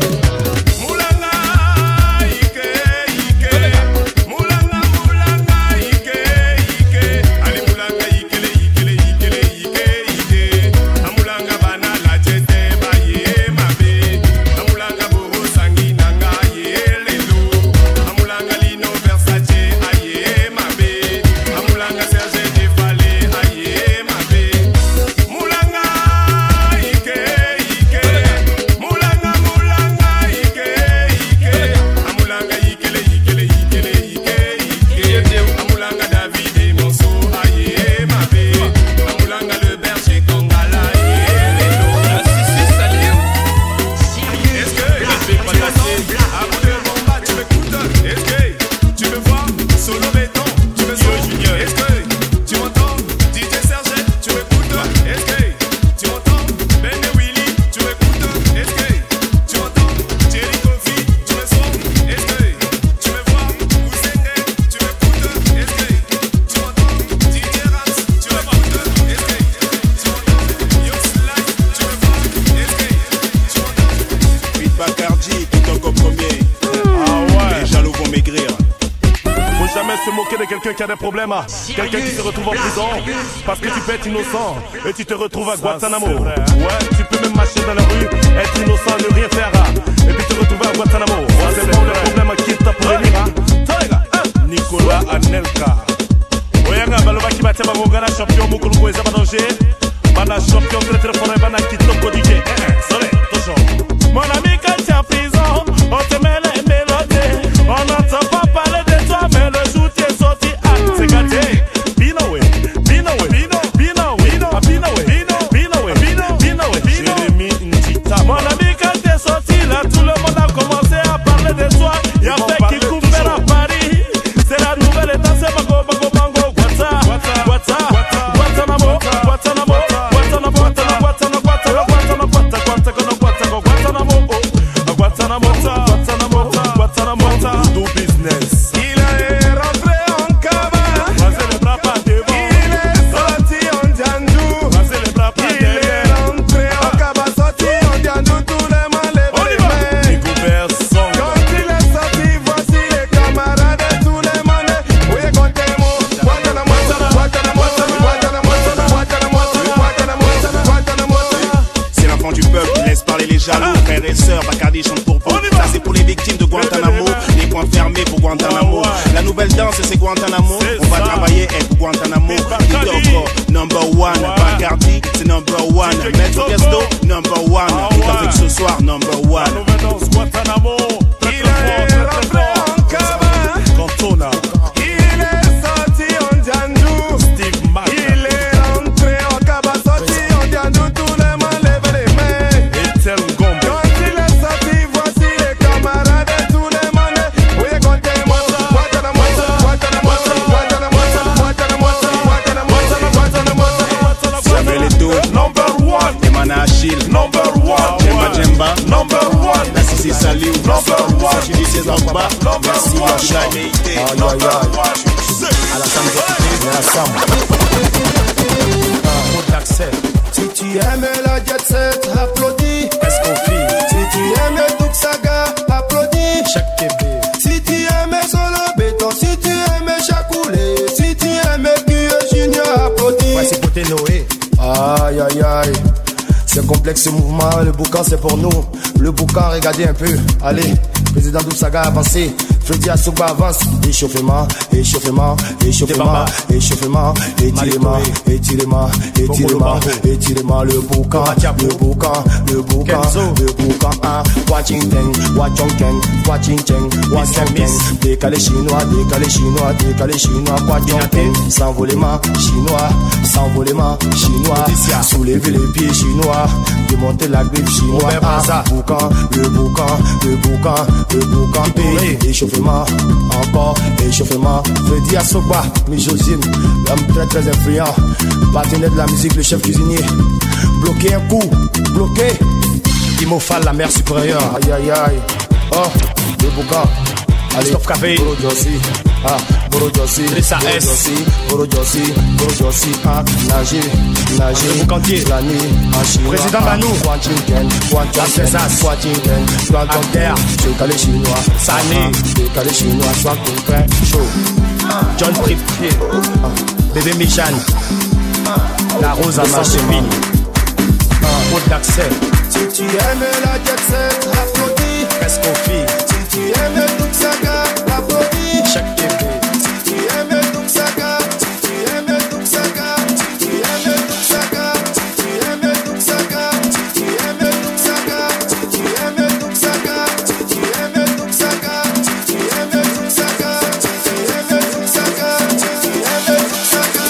moulanga, ike, ike, moulanga, moulanga, ike, ike, allez moulanga, ike, ike, ike, ike, ike, amulanga bana la jete ba ye mabe, amulanga boho sangi nanga ye lelo, amulanga lino Versace aye mabe, amulanga Serge Defale aye mabe, moulanga ike ike, moulanga moulanga ike ike, amulanga ikele ikele ikele ike ike, amulanga David et Monceau aye mabe, amulanga le berger Kongala aye lelo. Si salut. Est-ce que je fais pas tasser à bout de bomba, tu m'écoutes? Est-ce que tu me vois? Solo béton, tu me sens Junior. Est-ce que tu m'entends? DJ Serge, tu m'écoutes? Est-ce que tu m'entends? Ben et Willy, tu m'écoutes? Est-ce que tu m'entends? Jerry Kofi, tu me sens? Est-ce que tu me vois? Ousenge, tu m'écoutes? Est-ce que tu m'entends? DJ Rams, tu m'écoutes? Est-ce que tu m'entends? Yoslak, tu me vois? Est-ce que tu m'entends? Pete Bacardi, tout encore premier. Ah ouais. Les jaloux vont maigrir. Faut jamais se moquer de quelqu'un qui a des problèmes. Quelqu'un qui se retrouve en prison parce que tu peux être innocent et tu te retrouves à Guantanamo. Ouais, tu peux même marcher dans la rue, être innocent, ne rien faire et puis te retrouver à Guantanamo. Ouais, c'est bon le problème qui t'a pour venir. Nicolas Anelka. Oyanga balobaki batema ngongana champion mukulu kweza danger. Bana champion très fort et bana kitoko DJ. Sorry, toujours. Mon ami quand tu es en prison, on te met les mélodies. On n'entend pas parler de toi, mais le jour tu es sorti, c'est gâté. Binowe, Binowe, Binowe, Binowe, Binowe, Jérémy Ndita. Mon ami quand tu es sorti, là tout le monde a commencé à parler de toi. Y'a fait qui coupe à Paris. C'est la nouvelle étape, c'est Bago, Bago, Bango, Guantanamo, Guantanamo, Guantanamo, Guantanamo, Guantanamo, do business. Il est rentré en cabane. Vas-y les bras pas devant. Il est sorti en Djandou. Vas-y les bras pas Il est rentré en cabane, sorti en Djandou. Tous les mains lèvent les mains. Découvert son. Quand il est sorti, voici les camarades et tous les manés. Oui, comptez-moi. Guantanamo, Guantanamo, Guantanamo, Guantanamo, Guantanamo. C'est l'enfant du peuple, laisse parler les jaloux. Frères et sœurs, Bacardi chante pour vous. Ça c'est pour les victimes de Guantanamo. Les points fermés pour Guantanamo. La nouvelle danse c'est Guantanamo. On va travailler avec Guantanamo. Kitoko, number one. Bacardi, c'est number one. Maître Gesto, number one. Tout avec ce soir, number one. La nouvelle danse Guantanamo. Il est rentré en cabane. Cantona. Il est sorti en Djandou. Steve Mac. Il est rentré en cabane, sorti en Djandou. Tous les mains lèvent les mains. Etienne Gombe. Quand il est sorti, voici les camarades et tous les manés. Oui, comptez-moi. Guantanamo, Guantanamo, Guantanamo, Guantanamo, Guantanamo, Guantanamo. Samuel Eto'o, Number one. Emana Achille, Number one. Jemba Jemba, Number one. Nassisi Saliou, Number one. Sachidi César-Ba, merci Yoshua Meïté. Si tu aimes la jet set, applaudis. Qu'est-ce qu'on fait? Si tu aimes Douk Saga, applaudis. Chaque TV. Si tu aimes Solo Béton, si tu aimes Chacoulé, si tu aimes QE Junior, applaudis. Ouais, c'est côté Noé. Aïe aïe aïe. C'est complexe ce mouvement, le boucan c'est pour nous. Le boucan, regardez un peu. Allez, président Douk Saga avancez. Freddy Assoba avance. Échauffement, échauffement, échauffement, échauffement, étirement, étirement, étirement, étirement, le boucan, le boucan, le boucan, le boucan, Washington, Washington, Washington, Washington, décalé chinois, décalé chinois, décalé chinois, Washington, s'envolement chinois, s'envolement chinois, soulever les pieds chinois, démonter la griffe chinois, boucan, le boucan, le boucan, le boucan, échauffement, encore, échauffement, Freddy Assoba, Mijosine, l'homme très très influent, partenaire de la musique, le chef cuisinier, bloqué un coup, bloqué, Imofal, la mère supérieure, aïe aïe aïe, oh, le boucan, allez, Stop Café, Boro Jossi, Boro Jossi, Boro Jossi, Boro Jossi, nager, nager, boucantier, la nuit, en chinois, président Banou, Washington, Washington, Plantonterre, décalé chinois, Sané, décalé chinois, soit concret, chaud, John Prip, bébé Michan, la rose à ma chemine, route d'accès. Si tu aimes la jet set, applaudis. Presque aux filles. Si tu aimes Douk Saga, applaudis. Chaque bébé. Si tu aimes Douk Saga, si tu aimes Douk Saga, si tu aimes Douk Saga, si tu aimes Douk Saga, si tu aimes Douk Saga, si tu aimes Douk Saga, si tu aimes Douk Saga, si tu aimes Douk Saga, si tu aimes Douk Saga, si tu aimes Douk Saga.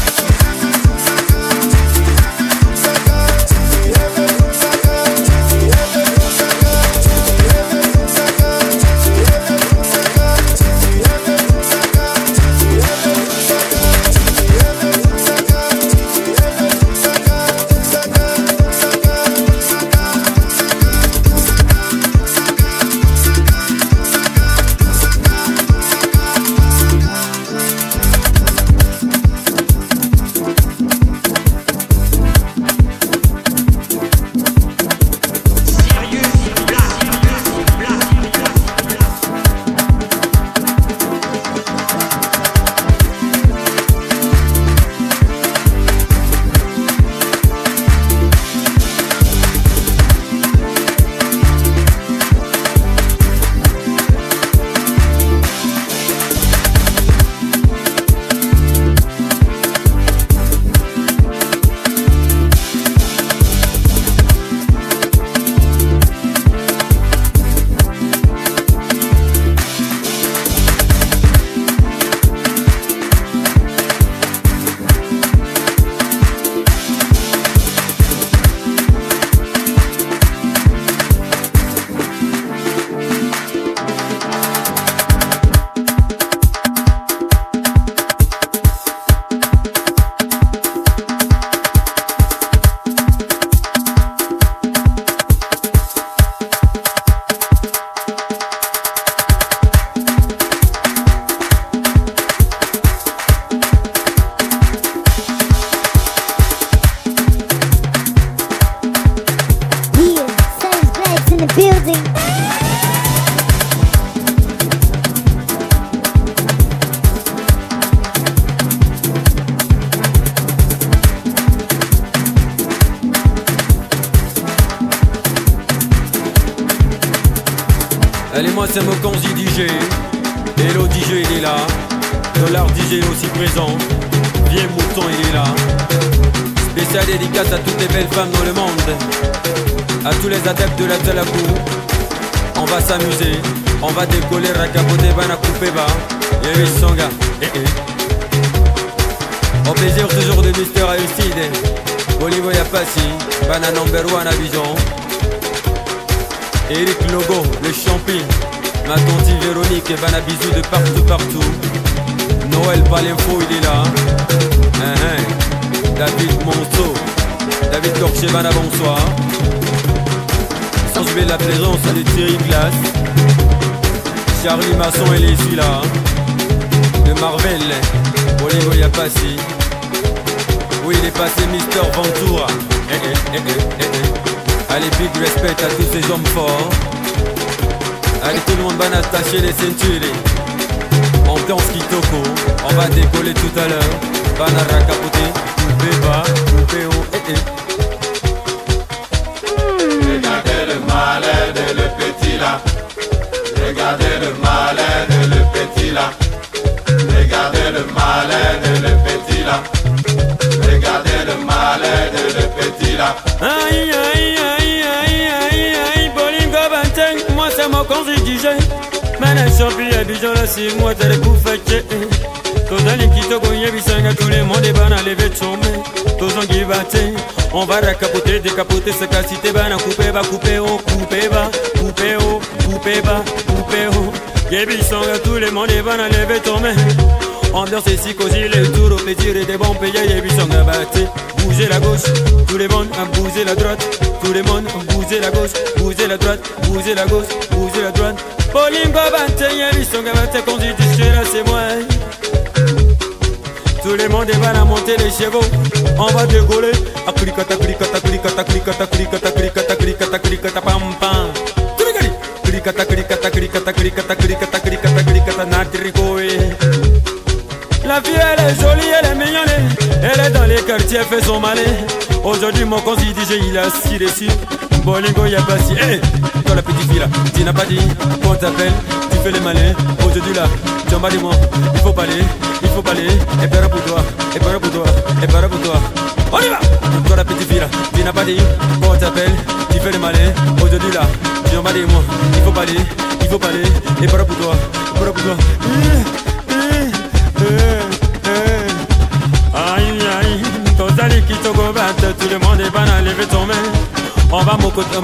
Allez, moi c'est Mokonzi DJ. Hello DJ, il est là. Dollar DJ aussi présent. Viens Mouton, il est là. Spécial dédicace à toutes les belles femmes dans le monde. À tous les adeptes de la Talakou. On va s'amuser. On va décoller, racapoter, bana couper bas. Yévi Songa. Au plaisir toujours de Mister Aristide. Bolivo Yapassi. Bana number one à Bijon. Eric Logo, le champion. Ma tante Véronique et Bana bisous de partout. Noël Palinfo, il est là. David Monceau, David Corché, Bana bonsoir. Sans oublier la présence de Thierry Glace. Charlie Masson, il est celui-là. De Marvel, Olivo Yapassi. Oui, il est passé Mister Ventura. Allez, big respect à tous ces hommes forts. Allez, tout le monde va attacher les ceintures. On danse Kitoko. On va décoller tout à l'heure. Banara capoter, coupé bas, coupé haut. Regardez le malin de le petit là. Regardez le malin de mokonzi DJ Mena champi ya bijan la si moi t'as pour faire Tozali kitoko yebisanga tout le monde bana lever tombe Tozongi bate on va racapoter décapoter sa qualité bana couper ba couper oh couper ba couper oh couper ba couper oh Yebisanga tout le monde bana lever tombe Ambiance ici cosy le tour au plaisir et des bons payés Yebisanga bate bouger la gauche tout le monde a bougé la droite tout le monde a bougé la gauche bouger la droite bouger la gauche bouger la droite Bolingo bate Yebisanga bate quand tu dis là c'est moi Tout le monde va la monter les chevaux On va décoller Akrikata krikata krikata krikata krikata krikata krikata krikata pam pam Krikata krikata krikata krikata krikata krikata krikata natrikoé La vie elle est jolie, elle est mignonne Elle est dans les quartiers, elle fait son malin Aujourd'hui mon conseil DJ il a assis dessus Bolingo y'a pas si Hey, toi la petite fille là Tu n'as pas dit qu'on t'appelle Tu fais les malins Aujourd'hui là, tu en bats de moi Il faut parler Et para pour toi, et para pour toi, et para pour toi On y va. Toi la petite fille là Tu n'as pas dit qu'on t'appelle Tu fais les malins Aujourd'hui là, tu en bats de moi Il faut parler Et para pour toi, et para pour toi Aïe aïe Tozali kitoko batte Tout le monde est banal, lever ton main On va mon côté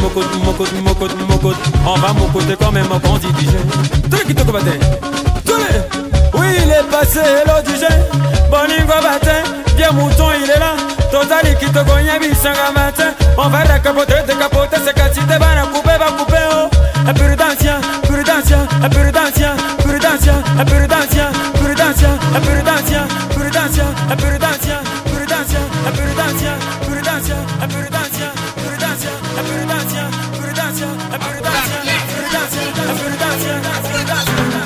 On va mon côté quand même on dit DJ Tous les kitoko batte Tous les Oui il est passé hello DJ Bolingo batte Bien mouton il est là Tozali kitoko nyabi sanga matin On va décapoter C'est qu'à si t'es banal couper va couper oh Prudencia Prudencia Prudencia Prudencia Prudencia Prudencia Prudencia Prudencia Prudencia Prudencia Prudencia Prudencia Prudencia Prudencia Prudencia Prudencia Prudencia Prudencia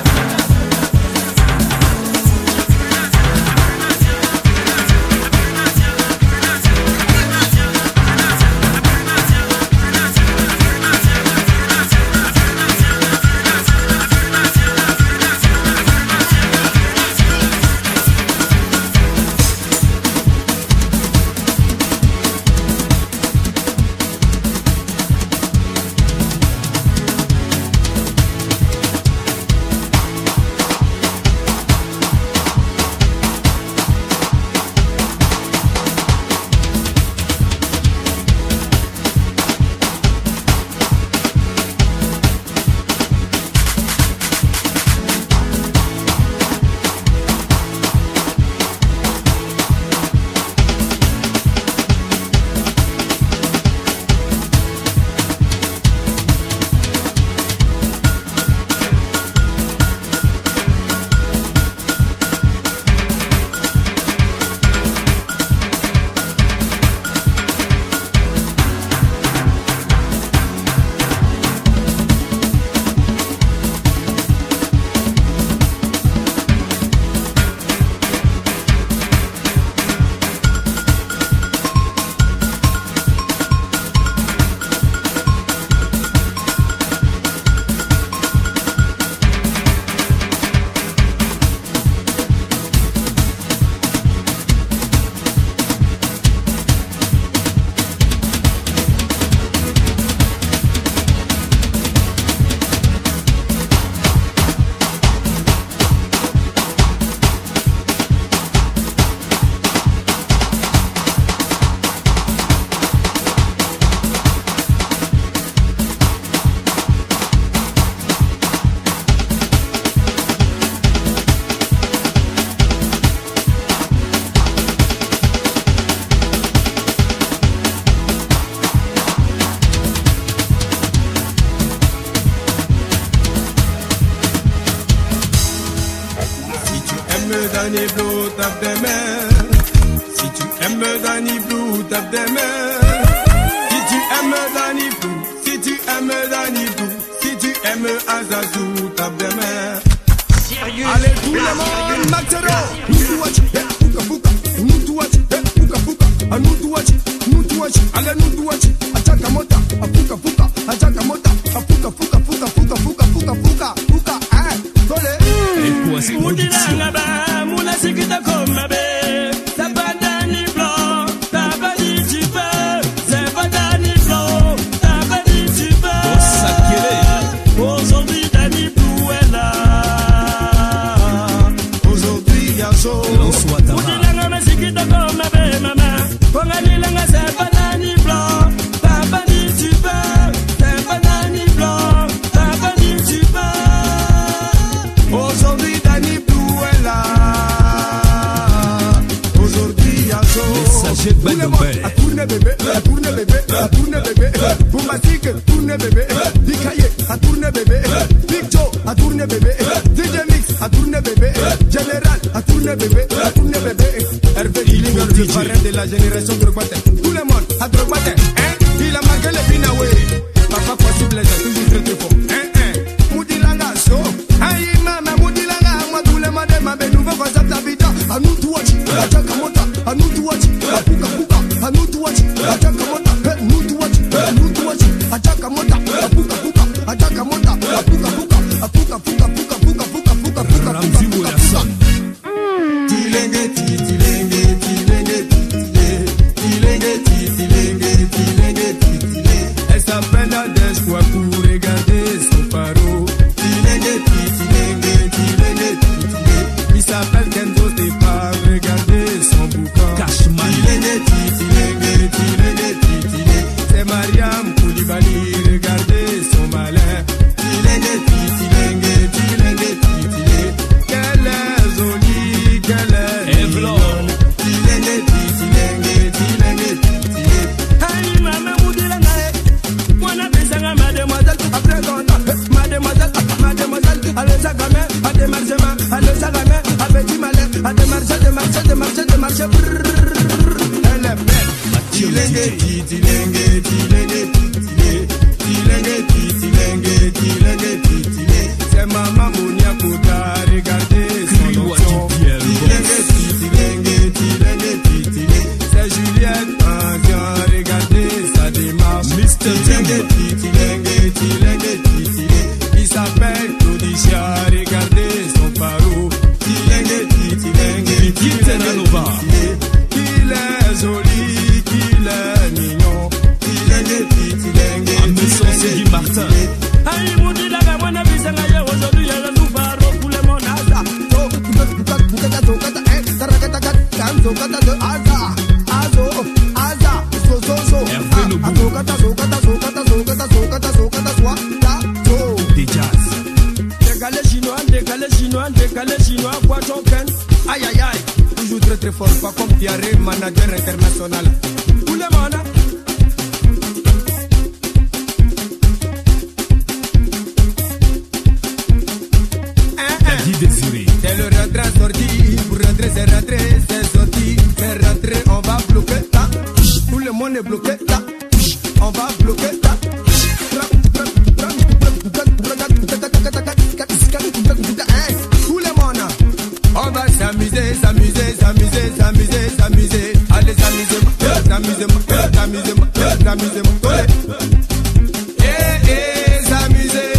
Danny Blue, tape des mains. Si tu aimes Danny Blue, tape des mains. Si tu aimes Danny Blue, si tu aimes Danny Blue, si tu aimes Azazou, tape des mains. Allez tout le monde, Maxero. Nutuachi, puka puka. Nutuachi, puka puka. Nutuachi, nutuachi. Allez nutuachi. Achaka mota, puka puka. Achaka mota, puka puka puka puka puka puka puka puka. Tole. Production. Moula sikita comme bé. C'est pas Danny Blanc. T'as pas dit tu peux. C'est pas Danny Blanc. T'as pas dit tu peux. Aujourd'hui tourné bébé, Dikaye a tourné bébé, Big Joe a tourné bébé, DJ Mix a tourné bébé, Général a tourné bébé, Hervé Dillinger, le parrain de la génération Drogbaté. Tout le monde a Drogbaté, il a marqué les Binaway. Papa possible, les a toujours très fort. Moudilanga, so, aïe mama, Moudilanga, moi tous les madés, ma belle nouvelle voix d'habita. À nous tout watch, à Jakamota, à nous tout watch, à Puka Puka, à nous tout watch, à Jakamota, nous tout watch, nous tout watch, à Jakamota, à Puka Puka, à Jakamota, à Puka Puka, à Puka Puka, Puka Puka, Puka Puka, Puka Ramzi Wilson. Tilenge, tilenge, tilenge, tilenge, tilenge, tilenge, tilenge. Elle s'appelle Adès quoi pour regarder son paro. Tilenge, tilenge, tilenge, tilenge. Il s'appelle Kenzo, t'es pas regarder son boucan. Cashman. Tilenge, tilenge, tilenge, tilenge. C'est Mariam Koulibaly, regardez son malin. Tilenge, tilenge, tilenge, tilenge. Qu'elle est jolie, qu'elle est mignonne. Tilenge, tilenge, tilenge, tilenge. Aïe maman Moudilanga, Mwana Bissanga mademoiselle. Après ton mademoiselle, mademoiselle. Allez ça gamin, à démarchement, allez ça gamin, à petit malin, à démarcher, démarcher, démarcher, démarcher. Elle est belle. Tilenge, tilenge, tilenge, tilenge, tilenge, tilenge, tilenge. C'est maman Mounia Kouta, regardez son option. Tilenge, tilenge, tilenge, tilenge. C'est Juliette Anzian, regardez sa démarche. Tilenge, tilenge, tilenge, tilenge. Il s'appelle Claudicia, regardez son paro. Tilenge, tilenge, tilenge. Il est joli, qu'il est mignon. Tilenge, tilenge. Ambition Sidi Martin. Aïe, Moudilanga, Mwana Bissanga, aujourd'hui, elle nous paro pour le monde. Aza, décalé chinois, quoi token. Aïe aïe aïe, toujours très très fort, pas comme Thierry, manager international. Tout le monde. C'est le rentré sorti, pour rentrer c'est rentré, c'est sorti, c'est rentré, on va bloquer ça. Tout le monde est bloqué là, on va bloquer ça. Tout le monde, on va s'amuser, s'amuser, s'amuser, s'amuser, s'amuser. Allez s'amuser, s'amuser, s'amuser, s'amuser, s'amuser.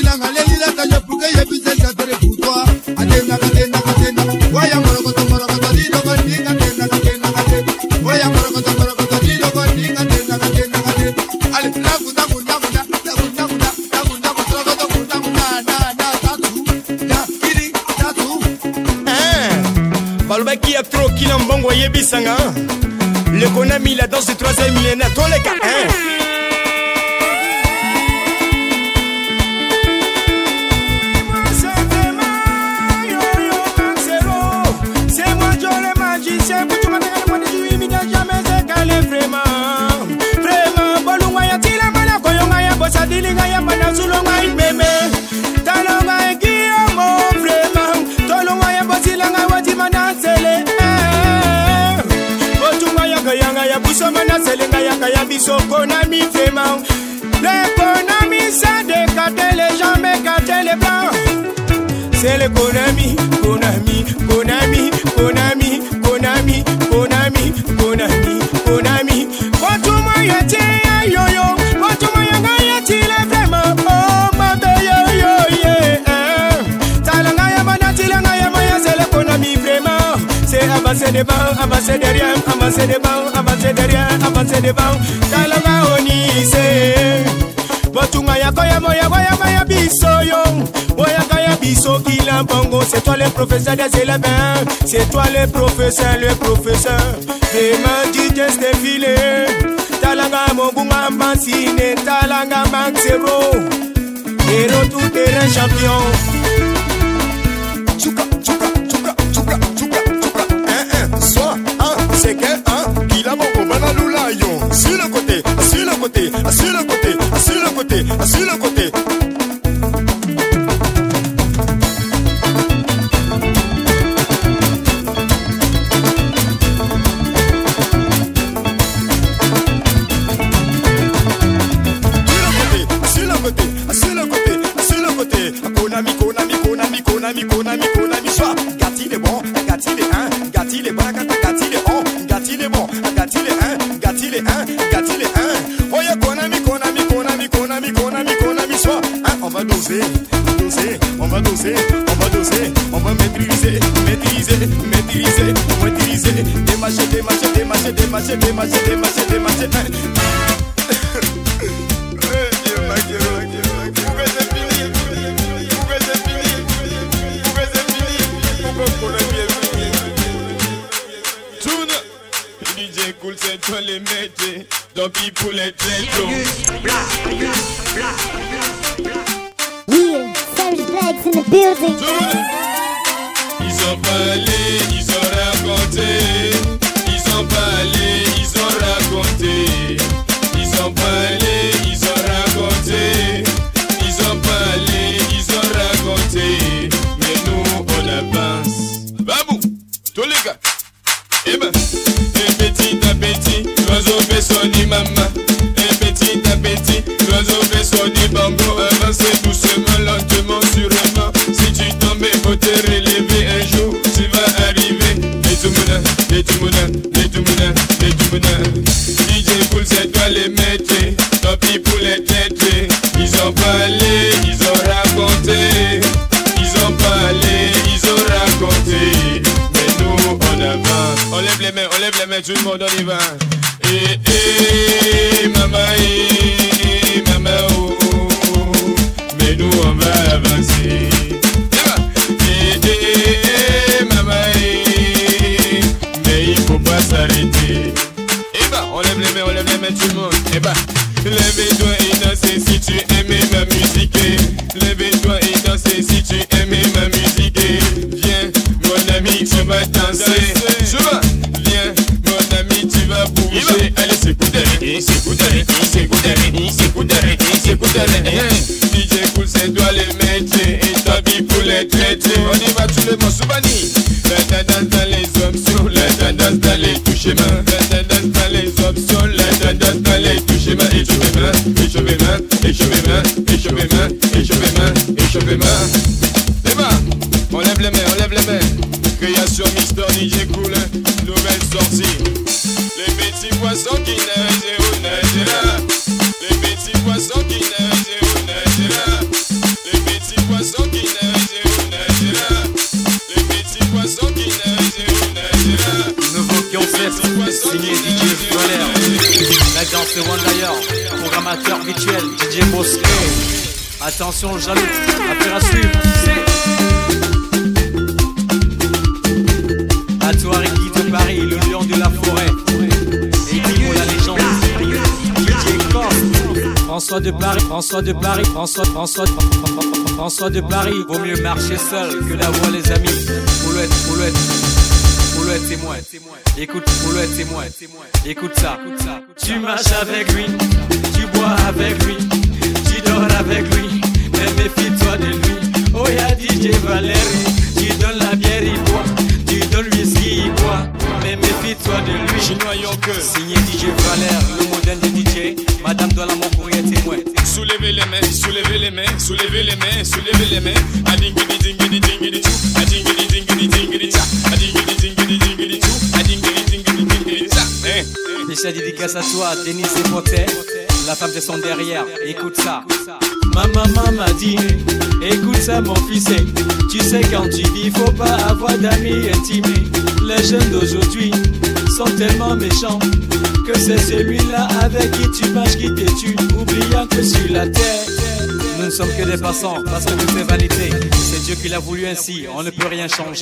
Why Tina Mbongo Yebisanga. Le Konami, la danse du 3e millénaire. Tous les gars, hein. Dilinga ya mana sulonga imeme talonga ekiyomo vraiment tolonga ya bosilanga wati mana sele botunga ya kayanga ya busoma na selenga ya kaya bisoko na mi vraiment l'économie ça décate les gens mais cate les blancs c'est l'économie Konami Konami Konami Konami Konami Konami Konami botunga ya tia yoyo botunga ya avancer devant, avancer derrière, avancer devant, avancer derrière, avancer devant. Kalanga onise. Botunga ya koya moya moya biso yo. Moya kaya biso kila bongo. C'est toi le professeur des élèves. C'est toi le professeur, le professeur. Demain tu t'es défilé. Talanga mongunga mansine. Talanga maxero. Héros tout terrain champion. Tchouka, tchouka, tchouka, tchouka, tchouka. Soit un, c'est que un, qui l'a mon combat l'oulayon. Sur le côté, sur le côté, sur le côté, sur le côté, sur le côté. Konami, Konami, Konami, Konami, Konami, Konami, soit Gatti les bons, Gatti les 1, Gatti les bons, Gatti les 1, Gatti les bons, Gatti les 1, Gatti les 1, Gatti les 1. Oh yeah, Konami, Konami, Konami, Konami, Konami, Konami, soit on va doser, doser, on va doser, on va doser, on va maîtriser, maîtriser, maîtriser, maîtriser, démarcher, démarcher, démarcher, démarcher, démarcher, démarcher, démarcher. DJ Cool, c'est toi les métiers, tant pis pour les têtes. Yeah, Savage Blacks in the building. Ils ont parlé, ils ont raconté. Ils ont parlé, ils ont raconté. Ils ont parlé, ils ont raconté. Ils ont parlé, ils ont raconté. Mais nous, on avance. Babou, tous les gars. Eh ben, et petit à petit, l'oiseau fait sonner maman. Et petit à petit, l'oiseau fait sonner bambou. Avancez doucement, lentement, sûrement. Si tu tombes, faut te relever un jour. Tu vas arriver. Et tout le et tout le et tout le et tout le. DJ Cool, c'est toi les métiers. Tant pis pour les têtes. Ils ont parlé, ils ont raconté. Ils ont parlé, ils ont raconté. Mais nous, on avance. On lève les mains, tout le monde, on y va. Maman, oh, mais nous, on va avancer. Maman, mais il faut pas s'arrêter. On lève les mains, tout le monde. Lève-toi et dansez si tu aimais ma musique. Lève-toi et dansez si tu aimais ma musique. Viens, mon ami, tu vas danser. Viens, mon ami, tu vas bouger. Allez, c'est coup d'arrêt, c'est coup d'arrêt, c'est coup d'arrêt, c'est coup d'arrêt, c'est coup d'arrêt. DJ Cool, c'est toi les métiers et ta vie pour les traiter. On y va tout le monde, Soubani. La tendance dans les options, la tendance dans les touches mains. La tendance dans les options, la tendance dans les touches mains. Et je vais main, et je vais main, et je vais main, et je vais main, et je vais main, et je vais main. C'est bon, on lève les mains, on lève les mains. Création Mister DJ Cool, nouvelle sortie. Les petits poissons qui nagent au nagera. Les petits poissons qui nagent au nagera. Les petits poissons qui nagent au nagera. Les petits poissons qui nagent au nagera. Nouveau concept, signé DJ Flair. La danse de One d'ailleurs, programmateur virtuel DJ Bosquet. Attention jaloux, affaire à suivre, c'est à toi Ricky de Paris. François de Paris, François de Paris, François de Paris. Vaut mieux marcher seul que d'avoir les amis. Poulouette, témoin. Écoute, Poulouette, témoin. Écoute ça. Tu marches avec lui, tu bois avec lui, tu dors avec lui, mais méfie-toi de lui. Oh y'a DJ Valérie, tu donnes la bière, il boit, tu donnes le whisky, il boit, mais méfie-toi de lui. Chinois Yonke, signé DJ Valère, le modèle de DJ, Madame Dola, mon courrier témoin. Soulevez les mains, soulevez les mains, soulevez les mains, soulevez les mains. Adingidi dingidi dingidi chou, adingidi dingidi dingidi cha, adingidi dingidi dingidi chou, adingidi dingidi dingidi cha. Déjà dédicace à toi, Denis et Potet, la femme de son derrière, écoute ça. Ma maman m'a dit, écoute ça mon fils, tu sais quand tu vis, faut pas avoir d'amis intimés. Les jeunes d'aujourd'hui sont tellement méchants que c'est celui-là avec qui tu marches qui te tue, oubliant que sur la terre nous ne sommes que des passants, parce que tout est vanité. C'est Dieu qui l'a voulu ainsi, on ne peut rien changer.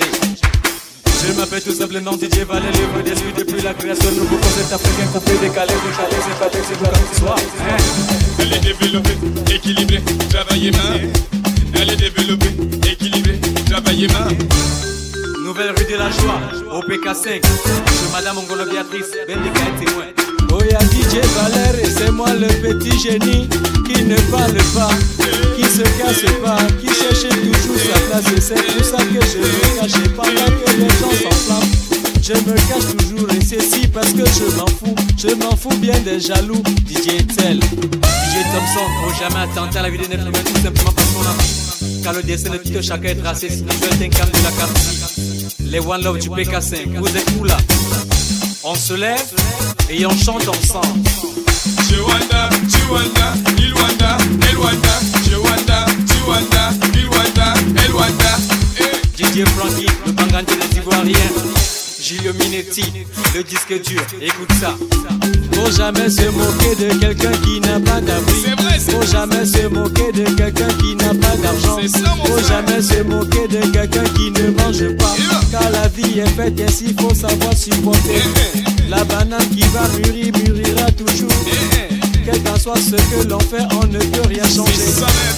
Je m'appelle tout simplement DJ Valet, livre des nuits depuis la création de nouveaux concepts africains qu'on peut décaler, c'est pas texte, c'est pas comme ce soir. Elle est développée, équilibrée, travaillez main. Elle est développée, équilibrée, travaillez main. Nouvelle rue de la joie, au PK5, je Madame Ongolo Béatrice, Ben de Gaël témoin. Oh y'a DJ Valère et c'est moi le petit génie qui ne parle pas, qui se casse pas, qui cherche toujours sa place. Et c'est pour ça que je me cache pendant que les gens s'enflamment. Je me cache toujours et c'est si parce que je m'en fous bien des jaloux. DJ Tel, DJ Thompson, faut jamais attenter à la vie de Netflix, tout simplement parce qu'on a envie. Car le destin de tout chacun est tracé, si nous sommes un cam de la carte. Les One Love du PK5, vous êtes où là? On se lève et on chante ensemble. Chiwanda, Chiwanda, Ilwanda, Elwanda, Chiwanda, Chiwanda, Ilwanda, Elwanda. DJ Frankie, le Bangandi des Ivoiriens. Gilio Minetti, le disque dur, écoute ça. Faut jamais se moquer de quelqu'un qui n'a pas d'abri. Faut jamais se moquer de quelqu'un qui n'a pas d'argent. Faut jamais se moquer de quelqu'un qui ne mange pas. Car la vie est faite ainsi, faut savoir supporter. La banane qui va mûrir, mûrira toujours. Quel qu'en soit ce que l'on fait, on ne peut rien changer.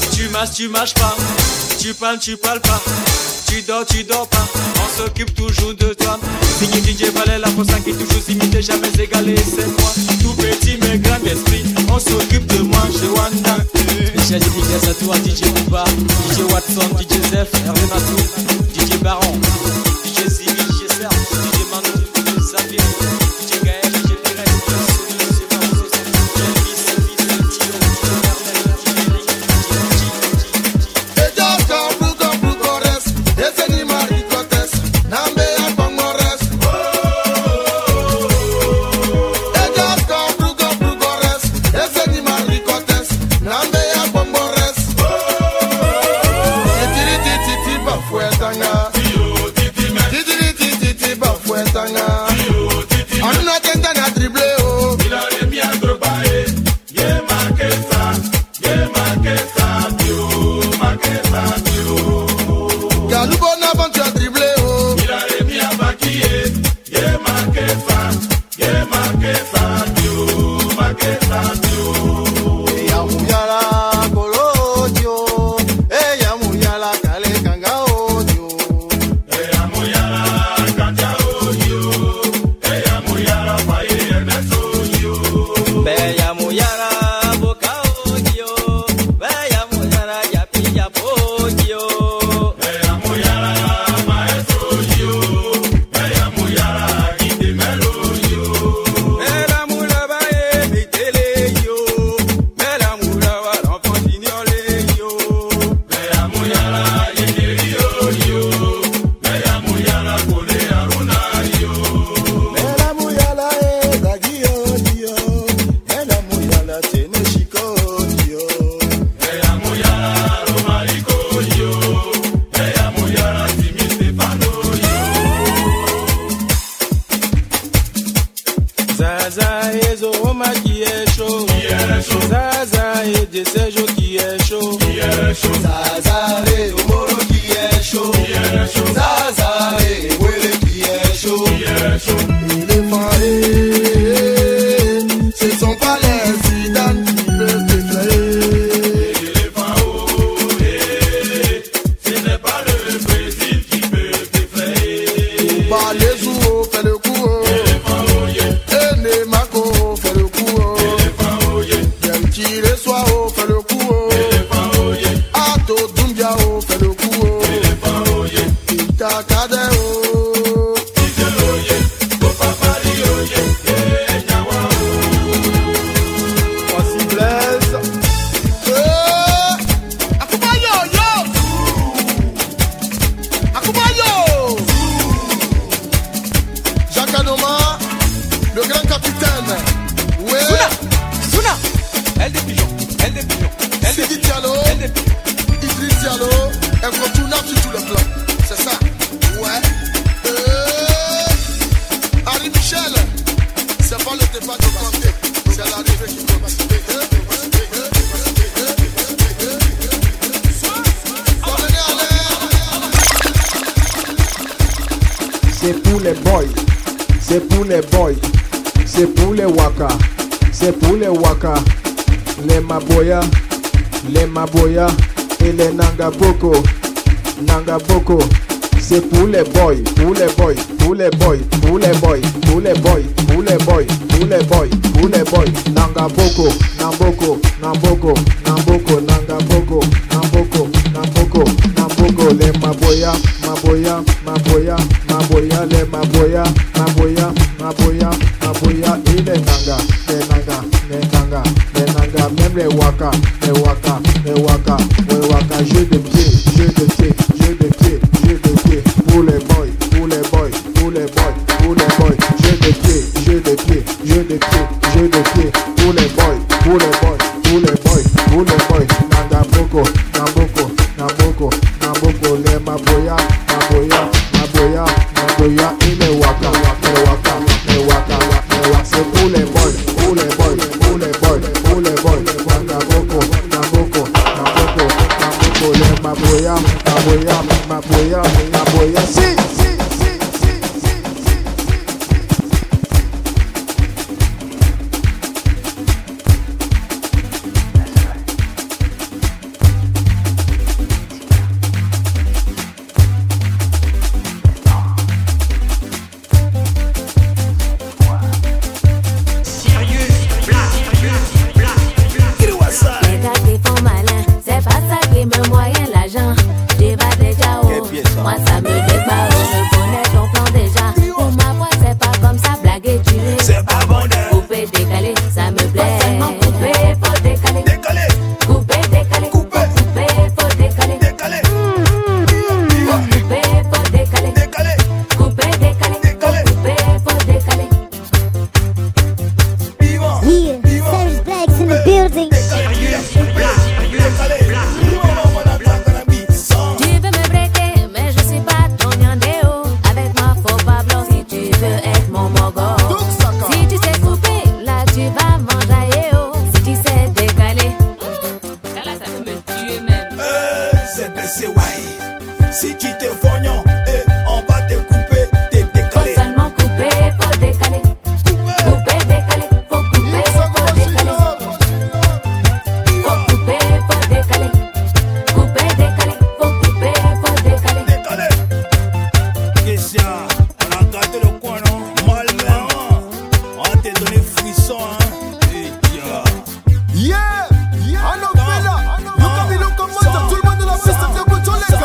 Tu marches pas. Tu parles pas. Tu dors pas. On s'occupe toujours de toi. Signé DJ Valet, la poste qui est toujours imité, jamais égalé. C'est moi, tout petit mais grand esprit. On s'occupe de moi, je Wanda. Spécial dédicace à toi, DJ Uba, DJ Watson, DJ Zef, Hervé Matou, DJ Baron, DJ Zimi, DJ Serge, DJ Manu, DJ Xavier, DJ Gaël, DJ Pérez, DJ Sony, DJ Barroso, DJ Elvis, DJ Tio, DJ Merlin, DJ Eric, Ce sont pas les Zidane qui peuvent te créer. Kanoma, le grand capitaine. Ouais. Souna, elle des pigeons, elle des pigeons. Sidi Diallo, Idriss Diallo, incontournable sur tous les plans. C'est ça. Ouais. Harry Michel, c'est pas le débat de Kanté, c'est l'arrivée qui commence. C'est pour les boys, c'est pour les boys, c'est pour les waka, c'est pour les waka, les maboya et les nangaboko, c'est pour les boys, pour les boys, pour les boys, pour les boys, pour les boys, pour les boys, pour les boys, pour les boys, nangaboko, namboko, nangaboko, les maboya, les maboya, et les nanga, même les waka, jeu de pied, pour les boys, jeu de pied, pour les boys, namboko, les maboya, et les waka, c'est pour les boys, namboko, les maboya, si. Moi ça me débat, je connais ton plan déjà. Pour ma voix c'est pas comme ça, blaguer tu l'es. C'est pas bon de couper, décaler, ça me plaît. Couper, faut décaler. Couper, décaler. Couper, faut décaler. Couper, faut décaler. Couper, décaler. Couper, faut décaler. Yeah, Serious Blacks in the building. Si tu te fognon, on va te couper, te décaler. Faut seulement couper, faut décaler. Couper, décaler, faut couper, faut décaler. Faut couper, faut décaler. Couper, décaler, faut couper, faut décaler. Question, on a gâté le coin, non? Malmain, on va te donner frisson, hein? Yeah, I know fella. Look at me, look at moi, tout le monde de la piste, c'est pour tous les gars.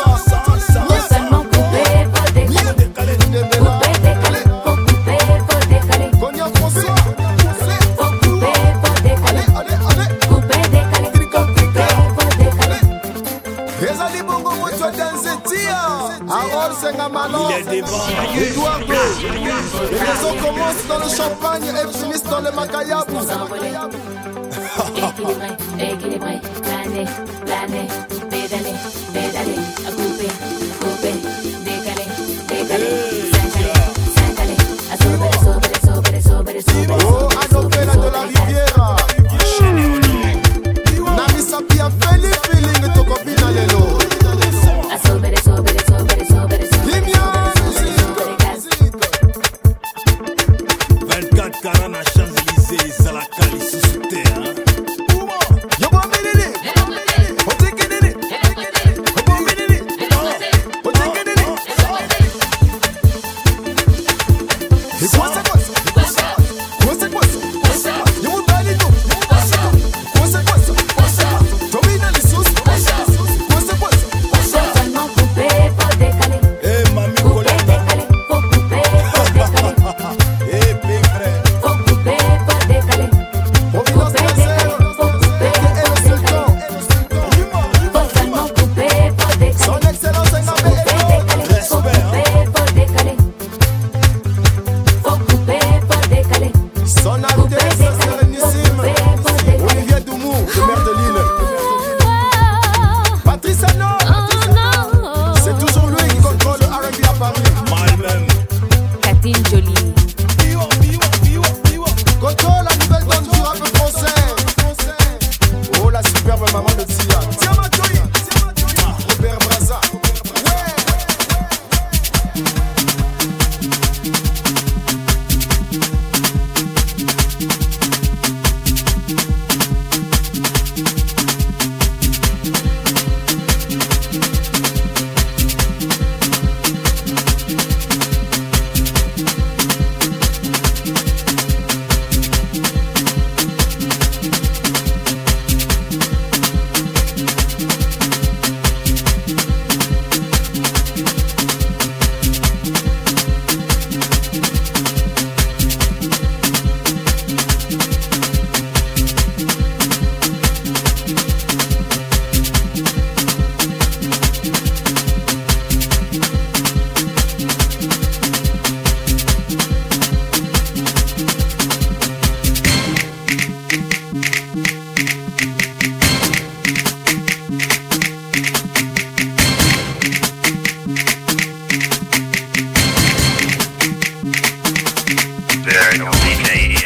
Il est devant. Les raisons commencent dans le champagne et finissent dans le macayabou. Équilibré, planer, pédaler, à couper, décaler, s'incaler, à sauver. Oh, à Novella de la Riviera. Nami Sapia, Feli feeling, toko bina lelo. À sauver. 24 carats à Champs-Élysées, c'est la calice sous terre. Miracle DJ